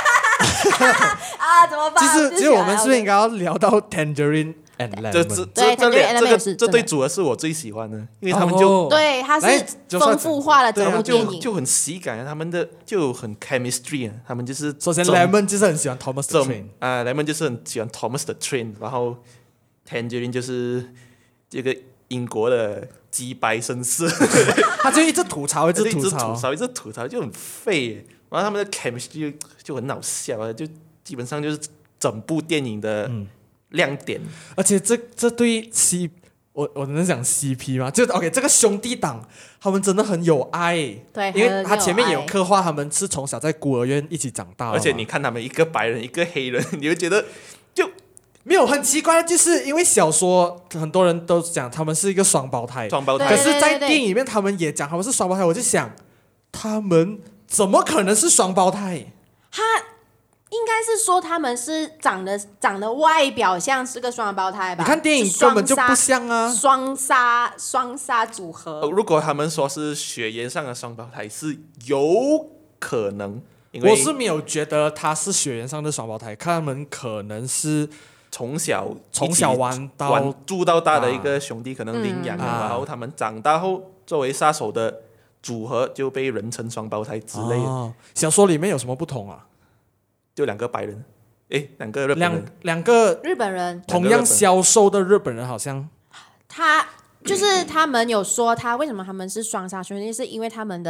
啊，怎麼辦？ 其實，其實我們是不是應該要聊到 Tangerine and Lemon？ 這這這這兩這個這對組合是我最喜歡的，因為他們就對，他是豐富化了整部電影， 就很喜感，他們的就很 chemistry 啊，他們就是首先 Lemon 就是很喜歡 Thomas the Train 啊 ，Lemon 就是很喜歡 Thomas the Train， 然後 Tangerine 就是這個英國的雞掰紳士， 他就一直吐槽，一直吐槽，一直吐槽，就很廢。然後他們的 chemistry 就就很好笑啊，就基本上就是整部電影的亮點。嗯、而且這這對 C， 我我能講 C P 嗎？就 OK， 這個兄弟檔他們真的很有愛， 對， 因為他前面也有刻畫他們是從小在孤兒院一起長大， 而且你看他們一個白人一個黑人，你會覺得就沒有很奇怪，就是因為小說很多人都講他們是一個雙胞胎， 雙胞胎， 可是在電影裡面他們也講他們是雙胞胎，我就想他們。怎麼可能是雙胞胎？ 他應該是說他們是長得長得外表像是個雙胞胎吧？ 你看電影根本就不像啊， 雙殺雙殺組合。 如果他們說是血緣上的雙胞胎，是有可能。因為我是沒有覺得他是血緣上的雙胞胎，看他們可能是從小從小玩到玩住到大的一個兄弟，啊、可能領養，嗯、然後他們長大後作為殺手的組合就被人稱雙胞胎之類的。 哦、小說裡面有什麼不同啊？ 就兩個白人，誒，兩個日本人， 兩兩個日本人， 同樣消瘦的日本人，好像他就是他們有說他為什麼他們是雙殺兄弟，是因為他們的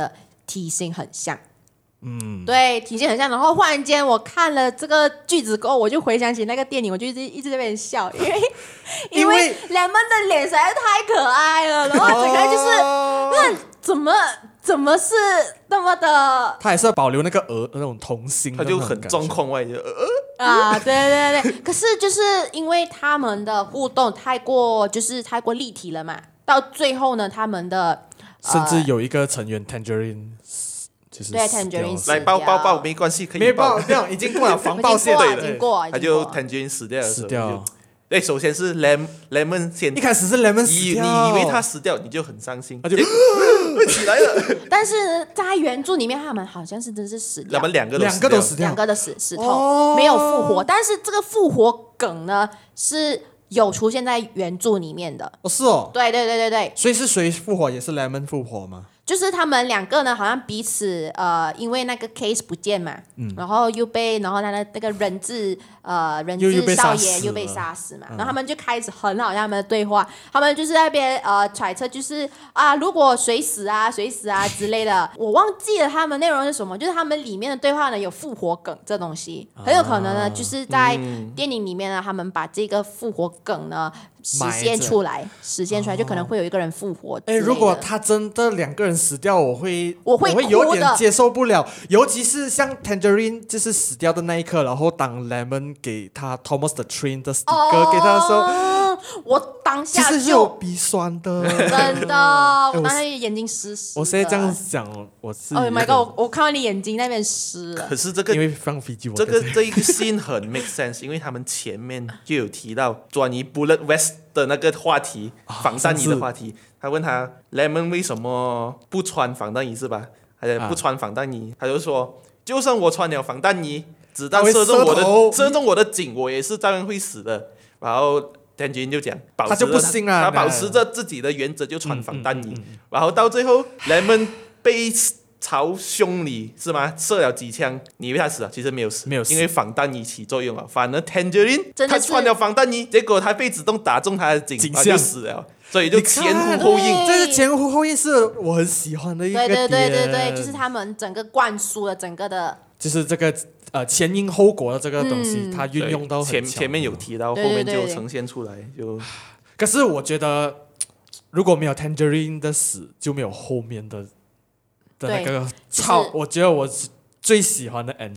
體型很像。嗯，對，體型很像。然後忽然間我看了這個句子過後，我就回想起那個電影，我就一直一直在那邊笑，因為因為 Lemon 的臉實在是太可愛了，然後整個就是、哦、那怎麼怎麼是那麼的， 他還是要保留那個兒那種童心， 他就很狀況外就呃啊，對對對，可是就是因為他們的互動太過就是太過立體了嘛，到最後呢，他們的、 呃、甚至有一個成員 Tangerine。就是對 Tangerine 來抱抱抱沒關係，可以沒抱，這樣已經過了防爆線了，已經過， 他就 Tangerine 死掉了， 死掉。 對，首先是 Lemon Lemon 先， 一開始是 Lemon 死掉， 你以為他死掉，你就很傷心，他就起來了。 但是在原著裡面，他們好像是真是死掉， 他們兩個兩個都死掉， 兩個的死死透，哦、沒有復活。但是這個復活梗呢是有出現在原著裡面的。 哦，是哦， 對對對對對。 所以是誰復活？也是 Lemon 復活嗎？ 就是他們兩個呢，好像彼此呃，因為那個 case 不見嘛，嗯、然後又被，然後他的那個人質呃人質少爺又被殺死嘛，嗯、然後他們就開始很好像他們的對話，他們就是在那邊呃揣測，就是啊，如果誰死啊，誰死啊之類的，我忘記了他們內容是什麼，就是他們裡面的對話呢有復活梗這東西，很有可能呢，啊、就是在電影裡面呢，他們把這個復活梗呢。實現出來，實現出來就可能會有一個人復活。哎， 如果他真的兩個人死掉，我會我會我會有點接受不了，尤其是像 Tangerine 就是死掉的那一刻，然後當 Lemon 給他 Thomas the Train 的 sticker 給他的時候， 哦、我當下就其實是有鼻酸的， 真的，我當時眼睛濕濕。 我現在這樣講，我是 Oh my god，我, 我看到你眼睛那邊濕了。 可是這個因為放飛機， 這個這一個 scene 很 make sense， 因為他們前面就有提到轉移 Bullet West 的那個話題，防彈衣的話題，他問他 Lemon 為什麼不穿防彈衣是吧？還不穿防彈衣，啊、他就說，就算我穿了防彈衣，子彈射中我的射中我的頸，我也是照樣會死的。然後 Tangerine 就講，保持他就不信啊， 他保持着自己的原則，就穿防彈衣。嗯嗯嗯嗯、然後到最後 Lemon 被朝胸裡是嗎？射了幾槍，你以為他死了？其實沒有死， 沒有死， 因為防彈衣起作用了。反而 Tangerine 他穿了防彈衣，結果他被子彈打中他的頸，他就死了。所以就前呼後應， 這是前呼後應，是我很喜歡的一個點。 對對對對對，就是他們整個灌輸了整個的， 就是這個呃前因後果的這個東西，它、嗯、運用到很前前面有提到，後面就呈現出來。就可是我覺得如果沒有 Tangerine 的死，就沒有後面的。的那個超，就是、我覺得我是最喜歡的 end。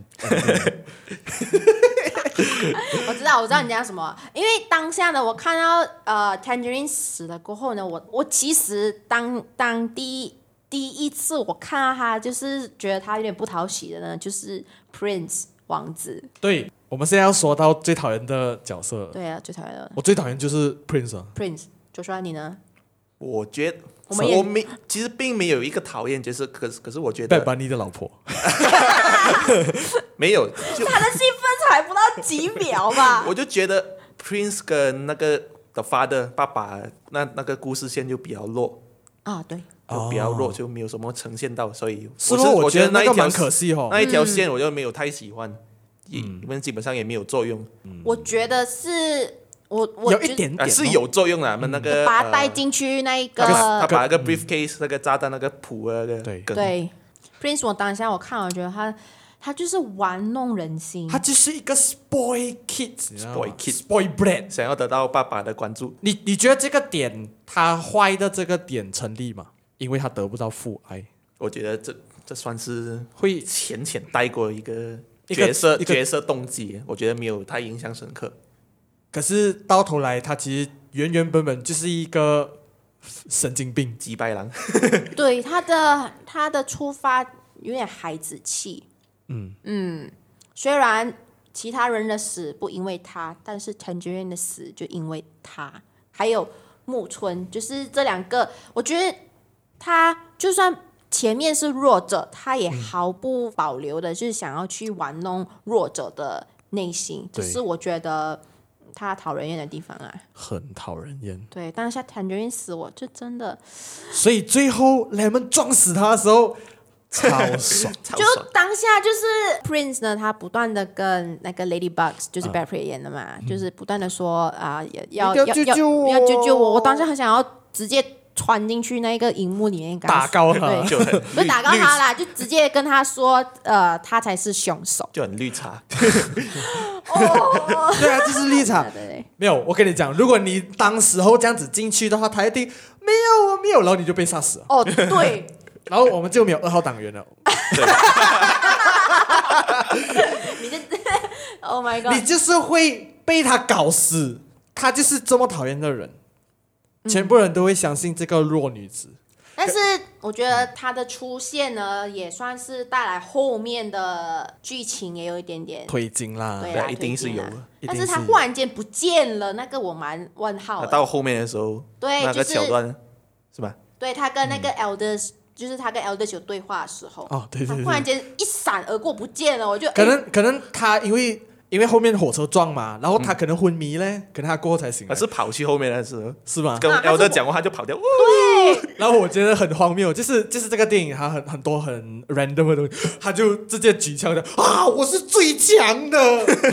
我知道，我知道你講什麼。因為當下呢，我看到呃 Tangerine 死了過後呢，我我其實當當第一第一次我看到他，就是覺得他有點不討喜的呢，就是 Prince 王子。 對，我們現在要說到最討厭的角色。 對啊，最討厭的。 我最討厭就是 Prince 啊。 Prince，就說你呢？ 我覺得。我, 我沒，其實並沒有一個討厭，就是可是可是我覺得 Bad Bunny 的老婆沒有， 就他的戲份才不到幾秒吧。 我就覺得 Prince 跟那個 The Father 爸爸那那個故事線就比較弱啊，對， 就比較弱，就沒有什麼呈現到，所以我是我覺得那一條蠻可惜哦， 那一條線我就沒有太喜歡，因為基本上也沒有作用。 嗯、我覺得是。我我有一點點、哦、 是有作用的，他們、嗯、那個把他帶進去那一個， 他把那個 briefcase、嗯、那個炸彈那個譜啊，那個對對 Prince， 我當下我看我覺得他他就是玩弄人心， 他就是一個 spoil kid，spoil kid，spoil brat， 想要得到爸爸的關注。 你你覺得這個點他壞的這個點成立嗎？因為他得不到父愛， 我覺得這這算是會淺淺帶過一個角色一個角色動機，我覺得沒有太印象深刻。 可是到頭來，他其實原原本本就是一個神經病、 幾百狼。 對，他的他的出發有點孩子氣。嗯嗯，雖然其他人的死不因為他，但是 Tangerine 的死就因為他。還有木村，就是這兩個，我覺得他就算前面是弱者，他也毫不保留的，就是想要去玩弄弱者的內心。只是我覺得。他討人厭的地方啊， 很討人厭。 對，但是像 Tangerine 死我就真的， 所以最後 Lemon 撞死他的時候，超爽。 就當下就是 Prince 呢，他不斷的跟那個 Ladybug 就是 Brad Pitt 演的嘛，嗯、就是不斷的說啊，要要要要救救我， 要救救我。我當時很想要直接穿進去那個熒幕裡面， 打高他， 對， 就很不是打高他啦，就直接跟他說，呃，他才是兇手， 就很綠茶。 哦， 对啊，这是綠茶。 对对对， 沒有，我跟你講，如果你當時候這樣子進去的話，他一定沒有啊，沒有，然後你就被殺死了。 哦，對， 然後我們就沒有二號黨員了。 你就 ，Oh my God， 你就是會被他搞死，他就是這麼討厭的人。全部人都會相信這個弱女子， 但是我覺得她的出現呢，也算是帶來後面的劇情也有一點點推進啦， 對啦， 一定是有的。 但是她忽然間不見了，那個我蠻問號的。 到後面的時候， 對， 那個橋段是吧？ 對，他跟那個 Elders，就是他跟 Elders 有對話的時候， 哦，對对对， 忽然間一閃而過不見了，我就可能可能他因為。因為後面火車撞嘛，然後他可能昏迷嘞，可能他過後才醒來。 他是跑去後面的時候， 是嗎？ 跟 Elder 講話他就跑掉。 對。 然後我覺得很荒謬，就是就是這個電影它很很多很 random 的東西，他就直接舉槍的啊，我是最強的。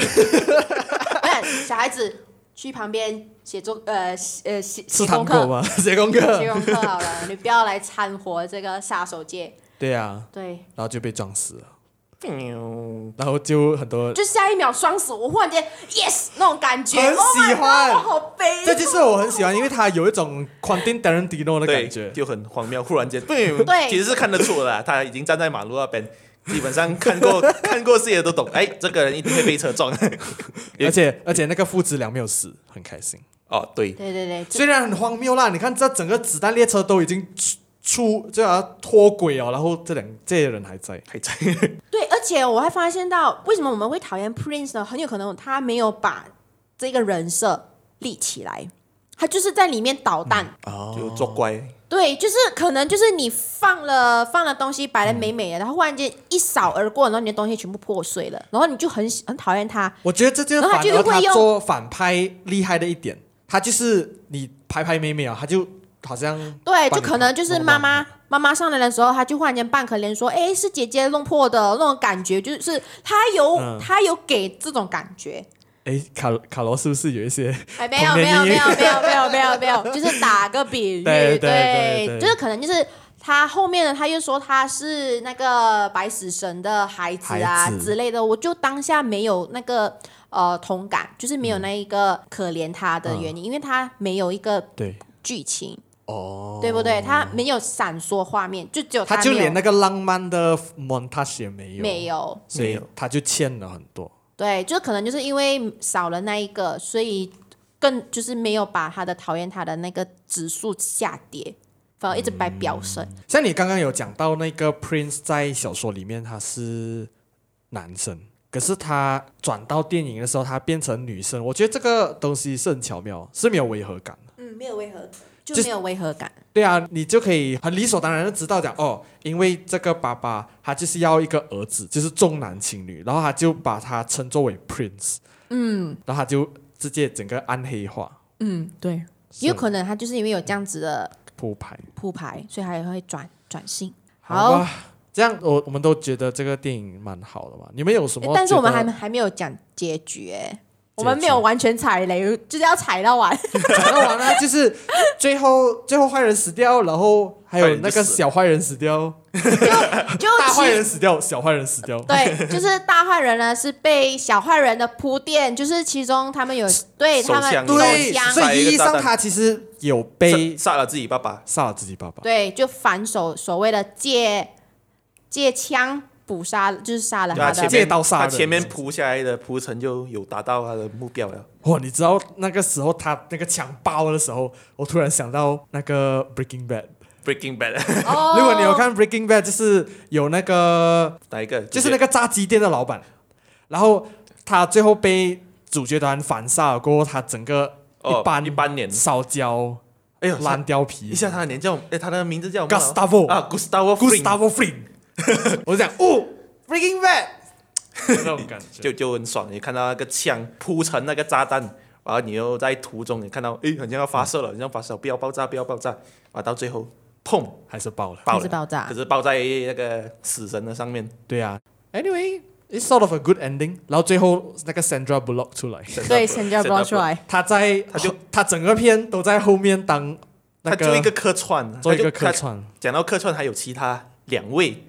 小孩子去旁邊寫作呃呃寫寫功課嗎？寫功課。 寫功課好了，你不要來摻和這個殺手界。 對啊。 對。 然後就被撞死了。然後就很多， 就下一秒雙死，我忽然間 yes 那種感覺， 很喜歡， oh、好悲。 這就是我很喜歡，因為他有一種 Quentin Tarantino 的感覺， 就很荒謬。忽然間，對，其實是看得出的啦，他已經站在馬路那邊，基本上看過看過戲的都懂，哎，這個人一定會被車撞。 而且而且那個父子倆沒有死，很開心。 哦，對， 對對對， 雖然很荒謬啦，你看這整個子彈列車都已經出就要脫軌哦，然後這兩這些人還在還在。 對，而且我還發現到，為什麼我們會討厭 Prince 呢？很有可能他沒有把這個人設立起來，他就是在裡面搗蛋， 嗯哦、就作怪。 對，就是可能就是你放了放了東西擺得美美的，嗯、然後忽然間一掃而過，然後你的東西全部破碎了，然後你就很很討厭他。 我覺得這就是反而他做反派厲害的一點，他就是你拍拍美美啊，他就。好像對，就可能就是媽媽媽媽上來的時候，他就忽然間扮可憐說：“哎，是姐姐弄破的那種感覺。”就是他有、嗯、他有給這種感覺。哎，卡卡羅是不是有一些？ 哎，沒有沒有沒有沒有沒有沒有沒有沒有，就是打個比喻， 對對對，對，對， 就是可能就是他後面呢，他又說他是那個白死神的孩子啊子之類的，我就當下沒有那個呃同感，就是沒有那一個可憐他的原因，嗯、因為他沒有一個對劇情。 哦， 對不對？他沒有閃爍畫面，就只有他， 他就連那個浪漫的 montage 也沒有， 沒有， 所以他就欠了很多。 對，就可能就是因為少了那一個，所以更就是沒有把他的討厭他的那個指數下跌，反而一直在飆升。嗯、 像你剛剛有講到那個 Prince 在小說裡面他是男生，可是他轉到電影的時候他變成女生，我覺得這個東西是很巧妙，是沒有違和感的。 嗯，沒有違和感。就沒有違和感。 對啊，你就可以很理所當然的知道講哦，因為這個爸爸他就是要一個兒子，就是重男輕女，然後他就把他稱作為 Prince， 嗯，然後他就直接整個暗黑化， 嗯，對，有可能他就是因為有這樣子的鋪排鋪排，所以他也會轉轉性。 好吧，這樣我我們都覺得這個電影蠻好的嘛，你們有什麼？ 但是我們還還沒有講結局哎。我們沒有完全踩雷，就是要踩到完， 踩到完了，就是最後最後壞人死掉，然後還有那個小壞人死掉，就就大壞人死掉，小壞人死掉。 對，就是大壞人呢是被小壞人的鋪墊，就是其中他們有對他們對，所以意義上他其實有被殺了自己爸爸， 殺了自己爸爸。 對，就反手所謂的借借槍。捕殺就是殺了他的， 借刀殺人。 他前面鋪下來的鋪陳就有達到他的目標了。 哇，你知道那個時候他那個槍爆的時候，我突然想到那個 Breaking Bad。Breaking Bad。 哦。 如果你有看 Breaking Bad，就是有那個哪一個？ 就是那個炸雞店的老闆，然後他最後被主角團反殺了過後，他整個一般一般臉燒焦， 哎呦， 爛掉皮。 一下他的臉叫，哎，他的名字叫 Gustavo 啊 ，Gustavo Gustavo Fring。我就講哦 ，Breaking Bad 那種感覺就就很爽。你看到那個槍鋪成那個炸彈，然後你又在途中你看到，哎，好像要發射了，好像發射，不要爆炸，不要爆炸，啊，到最後，砰， 還是爆了， 爆了，爆炸， 可是爆在那個死神的上面。 對啊 ，Anyway，it's sort of a good ending。然後最後那個 Sandra Bullock 出來， 對 ，Sandra Bullock 出來， 他在他就他整個片都在後面當那個他做一個客串， 做一個客串。 講到客串，還有其他兩位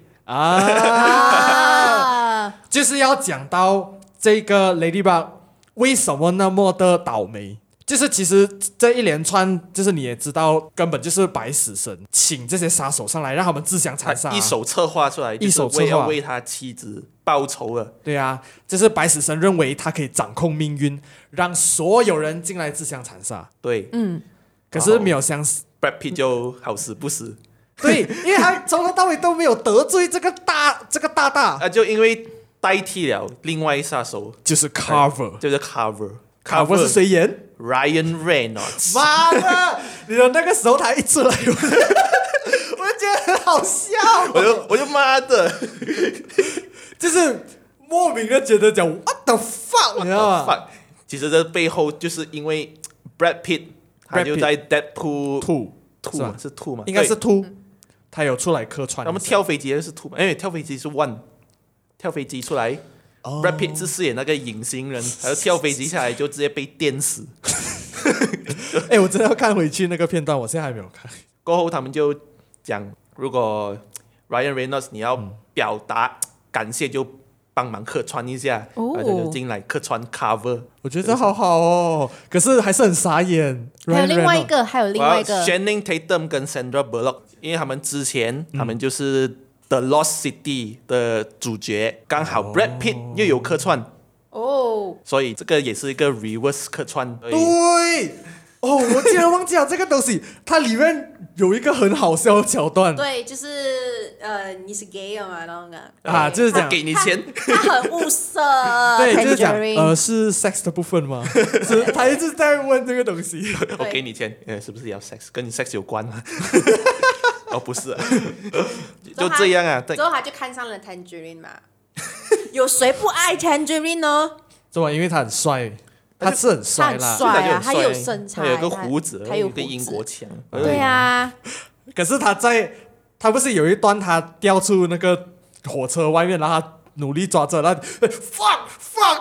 啊，就是要講到這個 Ladybug 為什麼那麼的倒霉。就是其實這一連串，就是你也知道，根本就是白死神請這些殺手上來，讓他們自相殘殺， 一手策劃出來， 一手策劃就是為要為他妻子報仇了。 對啊，就是白死神認為他可以掌控命運，讓所有人進來自相殘殺。 對， 嗯， 可是沒有相似 Brad Pitt 就好死不死。 對，因為他從頭到尾都沒有得罪這個大這個大大啊，就因為代替了另外一殺手， 就是 Carver， 就是 Carver。 Carver 是誰演 ？Ryan Reynolds。 媽的！你的那個時候他一出來，我就覺得很好笑。 我就我就媽的， 就是莫名的覺得講 What the fuck， 你知道嗎？ 其實這背後就是因為 Brad Pitt， 他就在 Deadpool two two 是 two 嗎？ 應該是 two， 他有出來客串。 他們跳飛機的是 two 嘛？因為跳飛機是 one， 跳飛機出來。Oh. Brad Pitt 是飾演那個隱形人，然後跳飛機下來就直接被電死。 哎、欸，我真的要看回去那個片段，我現在還沒有看。 過後他們就講，如果 Ryan Reynolds 你要表達感謝，就幫忙客串一下，然後就進來客串 cover。 我覺得好好哦，可是還是很傻眼。 還有另外一個，還有另外一個 Channing Tatum 跟 Sandra Bullock， 因為他們之前、嗯、他們就是。The Lost City 的主角剛好 Brad Pitt 又有客串哦， 所以這個也是一個 reverse 客串。 對，哦，我竟然忘記了這個東西，它裡面有一個很好笑的橋段。 對，就是呃，你是 gay 嘛，那種啊，就是講給你錢， 他很物色。 對，就是講呃，是 sex 的部分嗎？是，他一直在問這個東西。 我給你錢，呃，是不是要 sex？ 跟你 sex 有關嗎？哦，不是、啊，就這樣啊。 之後他就看上了 Tangerine 嘛，有誰不愛 Tangerine 呢？ 是吧？因為他很帥，他是很帥啦， 他很帥啊，他有身材， 他有個鬍子， 他有個英國腔。 對啊， 可是他在，他不是有一段他掉出那個火車外面，然後他努力抓着，然後 fuck fuck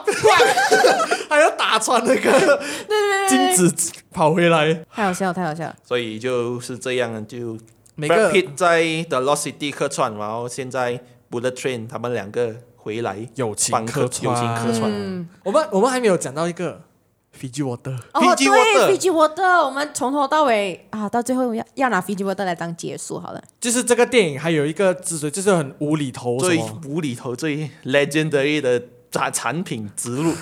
fuck， 還要打穿那個金子跑回來， 太好笑，太好笑。 所以就是這樣，就。 每個 Brad Pitt 在 The Lost City 客串，然後現在 Bullet Train 他們兩個回來友情客串， 友情客串。 嗯、 我們我們還沒有講到一個 Fiji Water， 哦 Fiji Water， Fiji Water， 我們從頭到尾啊，到最後要要拿 Fiji Water 來當結束好了。 就是這個電影還有一個之所以就是很無厘頭， 最無厘頭、最 legendary 的產產品植入。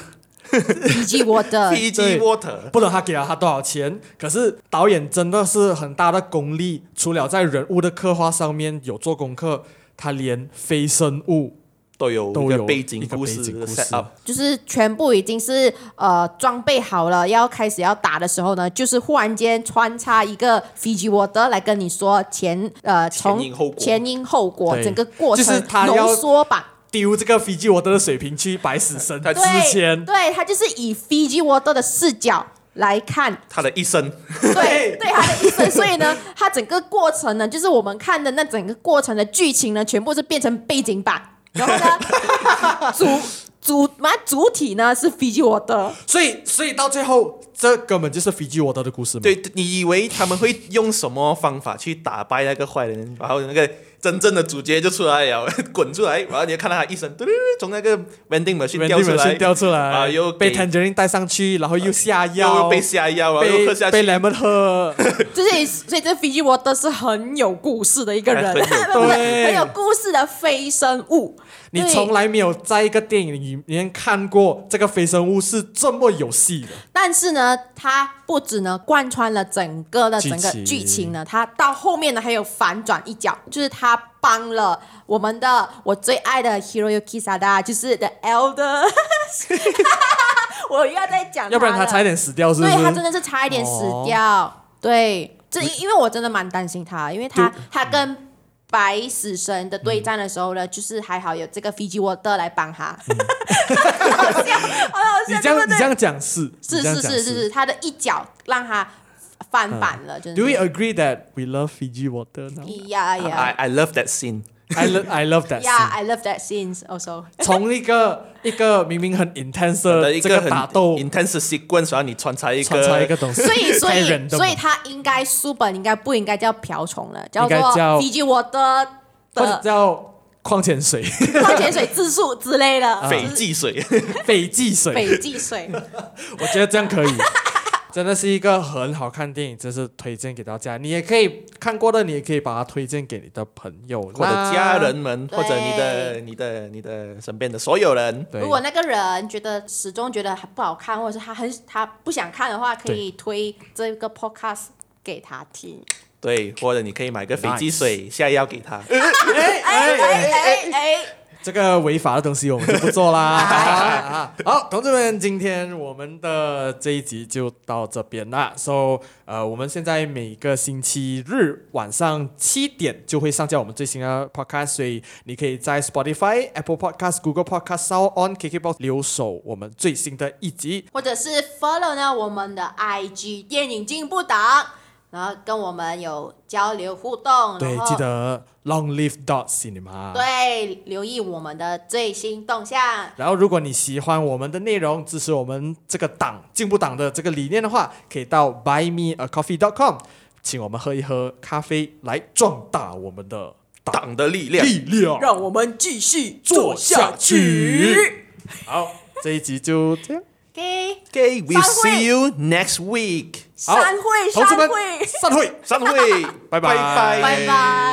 Fiji Water， Water， 不懂他給了他多少錢，可是導演真的是很大的功力，除了在人物的刻畫上面有做功課，他連非生物都有都有背景故事的 set up， 就是全部已經是呃裝備好了，要開始要打的時候呢，就是忽然間穿插一個 Fiji Water 來跟你說前呃從前因後果， 前因後果整個過程就是他要濃縮版。 丟這個 Fiji Water 的水瓶去白死神之前， 對，他就是以 Fiji Water 的視角來看他的一生， 對對，他的一生，所以呢，他整個過程呢，就是我們看的那整個過程的劇情呢，全部是變成背景板，然後呢，主主嘛主體呢是 Fiji Water， 所以所以到最後，這根本就是 Fiji Water 的故事嗎？ 對，你以為他們會用什麼方法去打敗那個壞人，然後那個真正的主角就出來了，滾出來，然後你就看到他一身對對對，從那個 vending machine 掉出來， 掉出來， 啊，又被 Tangerine 帶上去，然後又下藥， 又被下藥，然後又喝下去， 被 Lemon 喝， 就是所以這 Fiji Water 是很有故事的一個人， 很有對，很有故事的非生物。 你從來沒有在一個電影裡面看過這個非生物是這麼有戲的。 但是呢，它不只呢貫穿了整個的整個劇情呢，它到後面呢還有反轉一角，就是它幫了我們的我最愛的 Hiroyuki Sanada， 就是 The Elder 。我又要再講他了， 要不然他差一點死掉，是不是？ 對，他真的是差一點死掉。哦、對，這因為我真的蠻擔心他，因為他他跟白死神的對戰的時候呢，嗯、就是還好有這個 Fiji Water 來幫他，嗯、好笑，好好笑。 你這樣對對你這樣講是是是是是是，他的一腳讓他翻版了。嗯、 Do we agree that we love Fiji Water now? Yeah, yeah. I I love that scene. I love I love that. Yeah, I love that scenes also. 從一個一個明明很 intense 的一個很打鬥 intense sequence，然後你穿插一個穿插一個東西， 所以所以 random 所以他應該書本應該不應該叫瓢蟲了，叫做應該叫 Fiji Water 或者的叫礦泉水、 礦泉水質素之類的， 斐濟水， 斐濟水， 斐濟水。 我覺得這樣可以。真的是一個很好看電影，真是推薦給大家。你也可以看過的，你也可以把它推薦給你的朋友或者家人們，或者你的、你的、你的身邊的所有人。 如果那個人覺得始終覺得不好看，或者是他很他不想看的話，可以推這個 podcast 給他聽。 對，或者你可以買個斐濟水下藥給他。 哎哎哎哎哎！ 這個違法的東西我們就不做啦。好，同志們，今天我們的這一集就到這邊啦。So， 呃，我們現在每個星期日晚上七點就會上架我們最新的 podcast， 所以你可以在 Spotify、Apple Podcast、Google Podcast、SoundOn、K K Box 留守我們最新的一集， 或者是 follow 呢我們的 I G 電影進步黨，然後跟我們有交流互動。 對，記得 Long Live Dot Cinema。 對，留意我們的最新動向。 然後，如果你喜歡我們的內容，支持我們這個黨進步黨的這個理念的話，可以到 buy me a coffee dot com， 請我們喝一喝咖啡，來壯大我們的黨的力量。 力量， 讓我們繼續做下去。 好，這一集就這樣。 Okay, Okay, we'll see you next week. 散會， 同志們， 散會， 散會， 散會， 拜拜， 拜拜， 拜拜。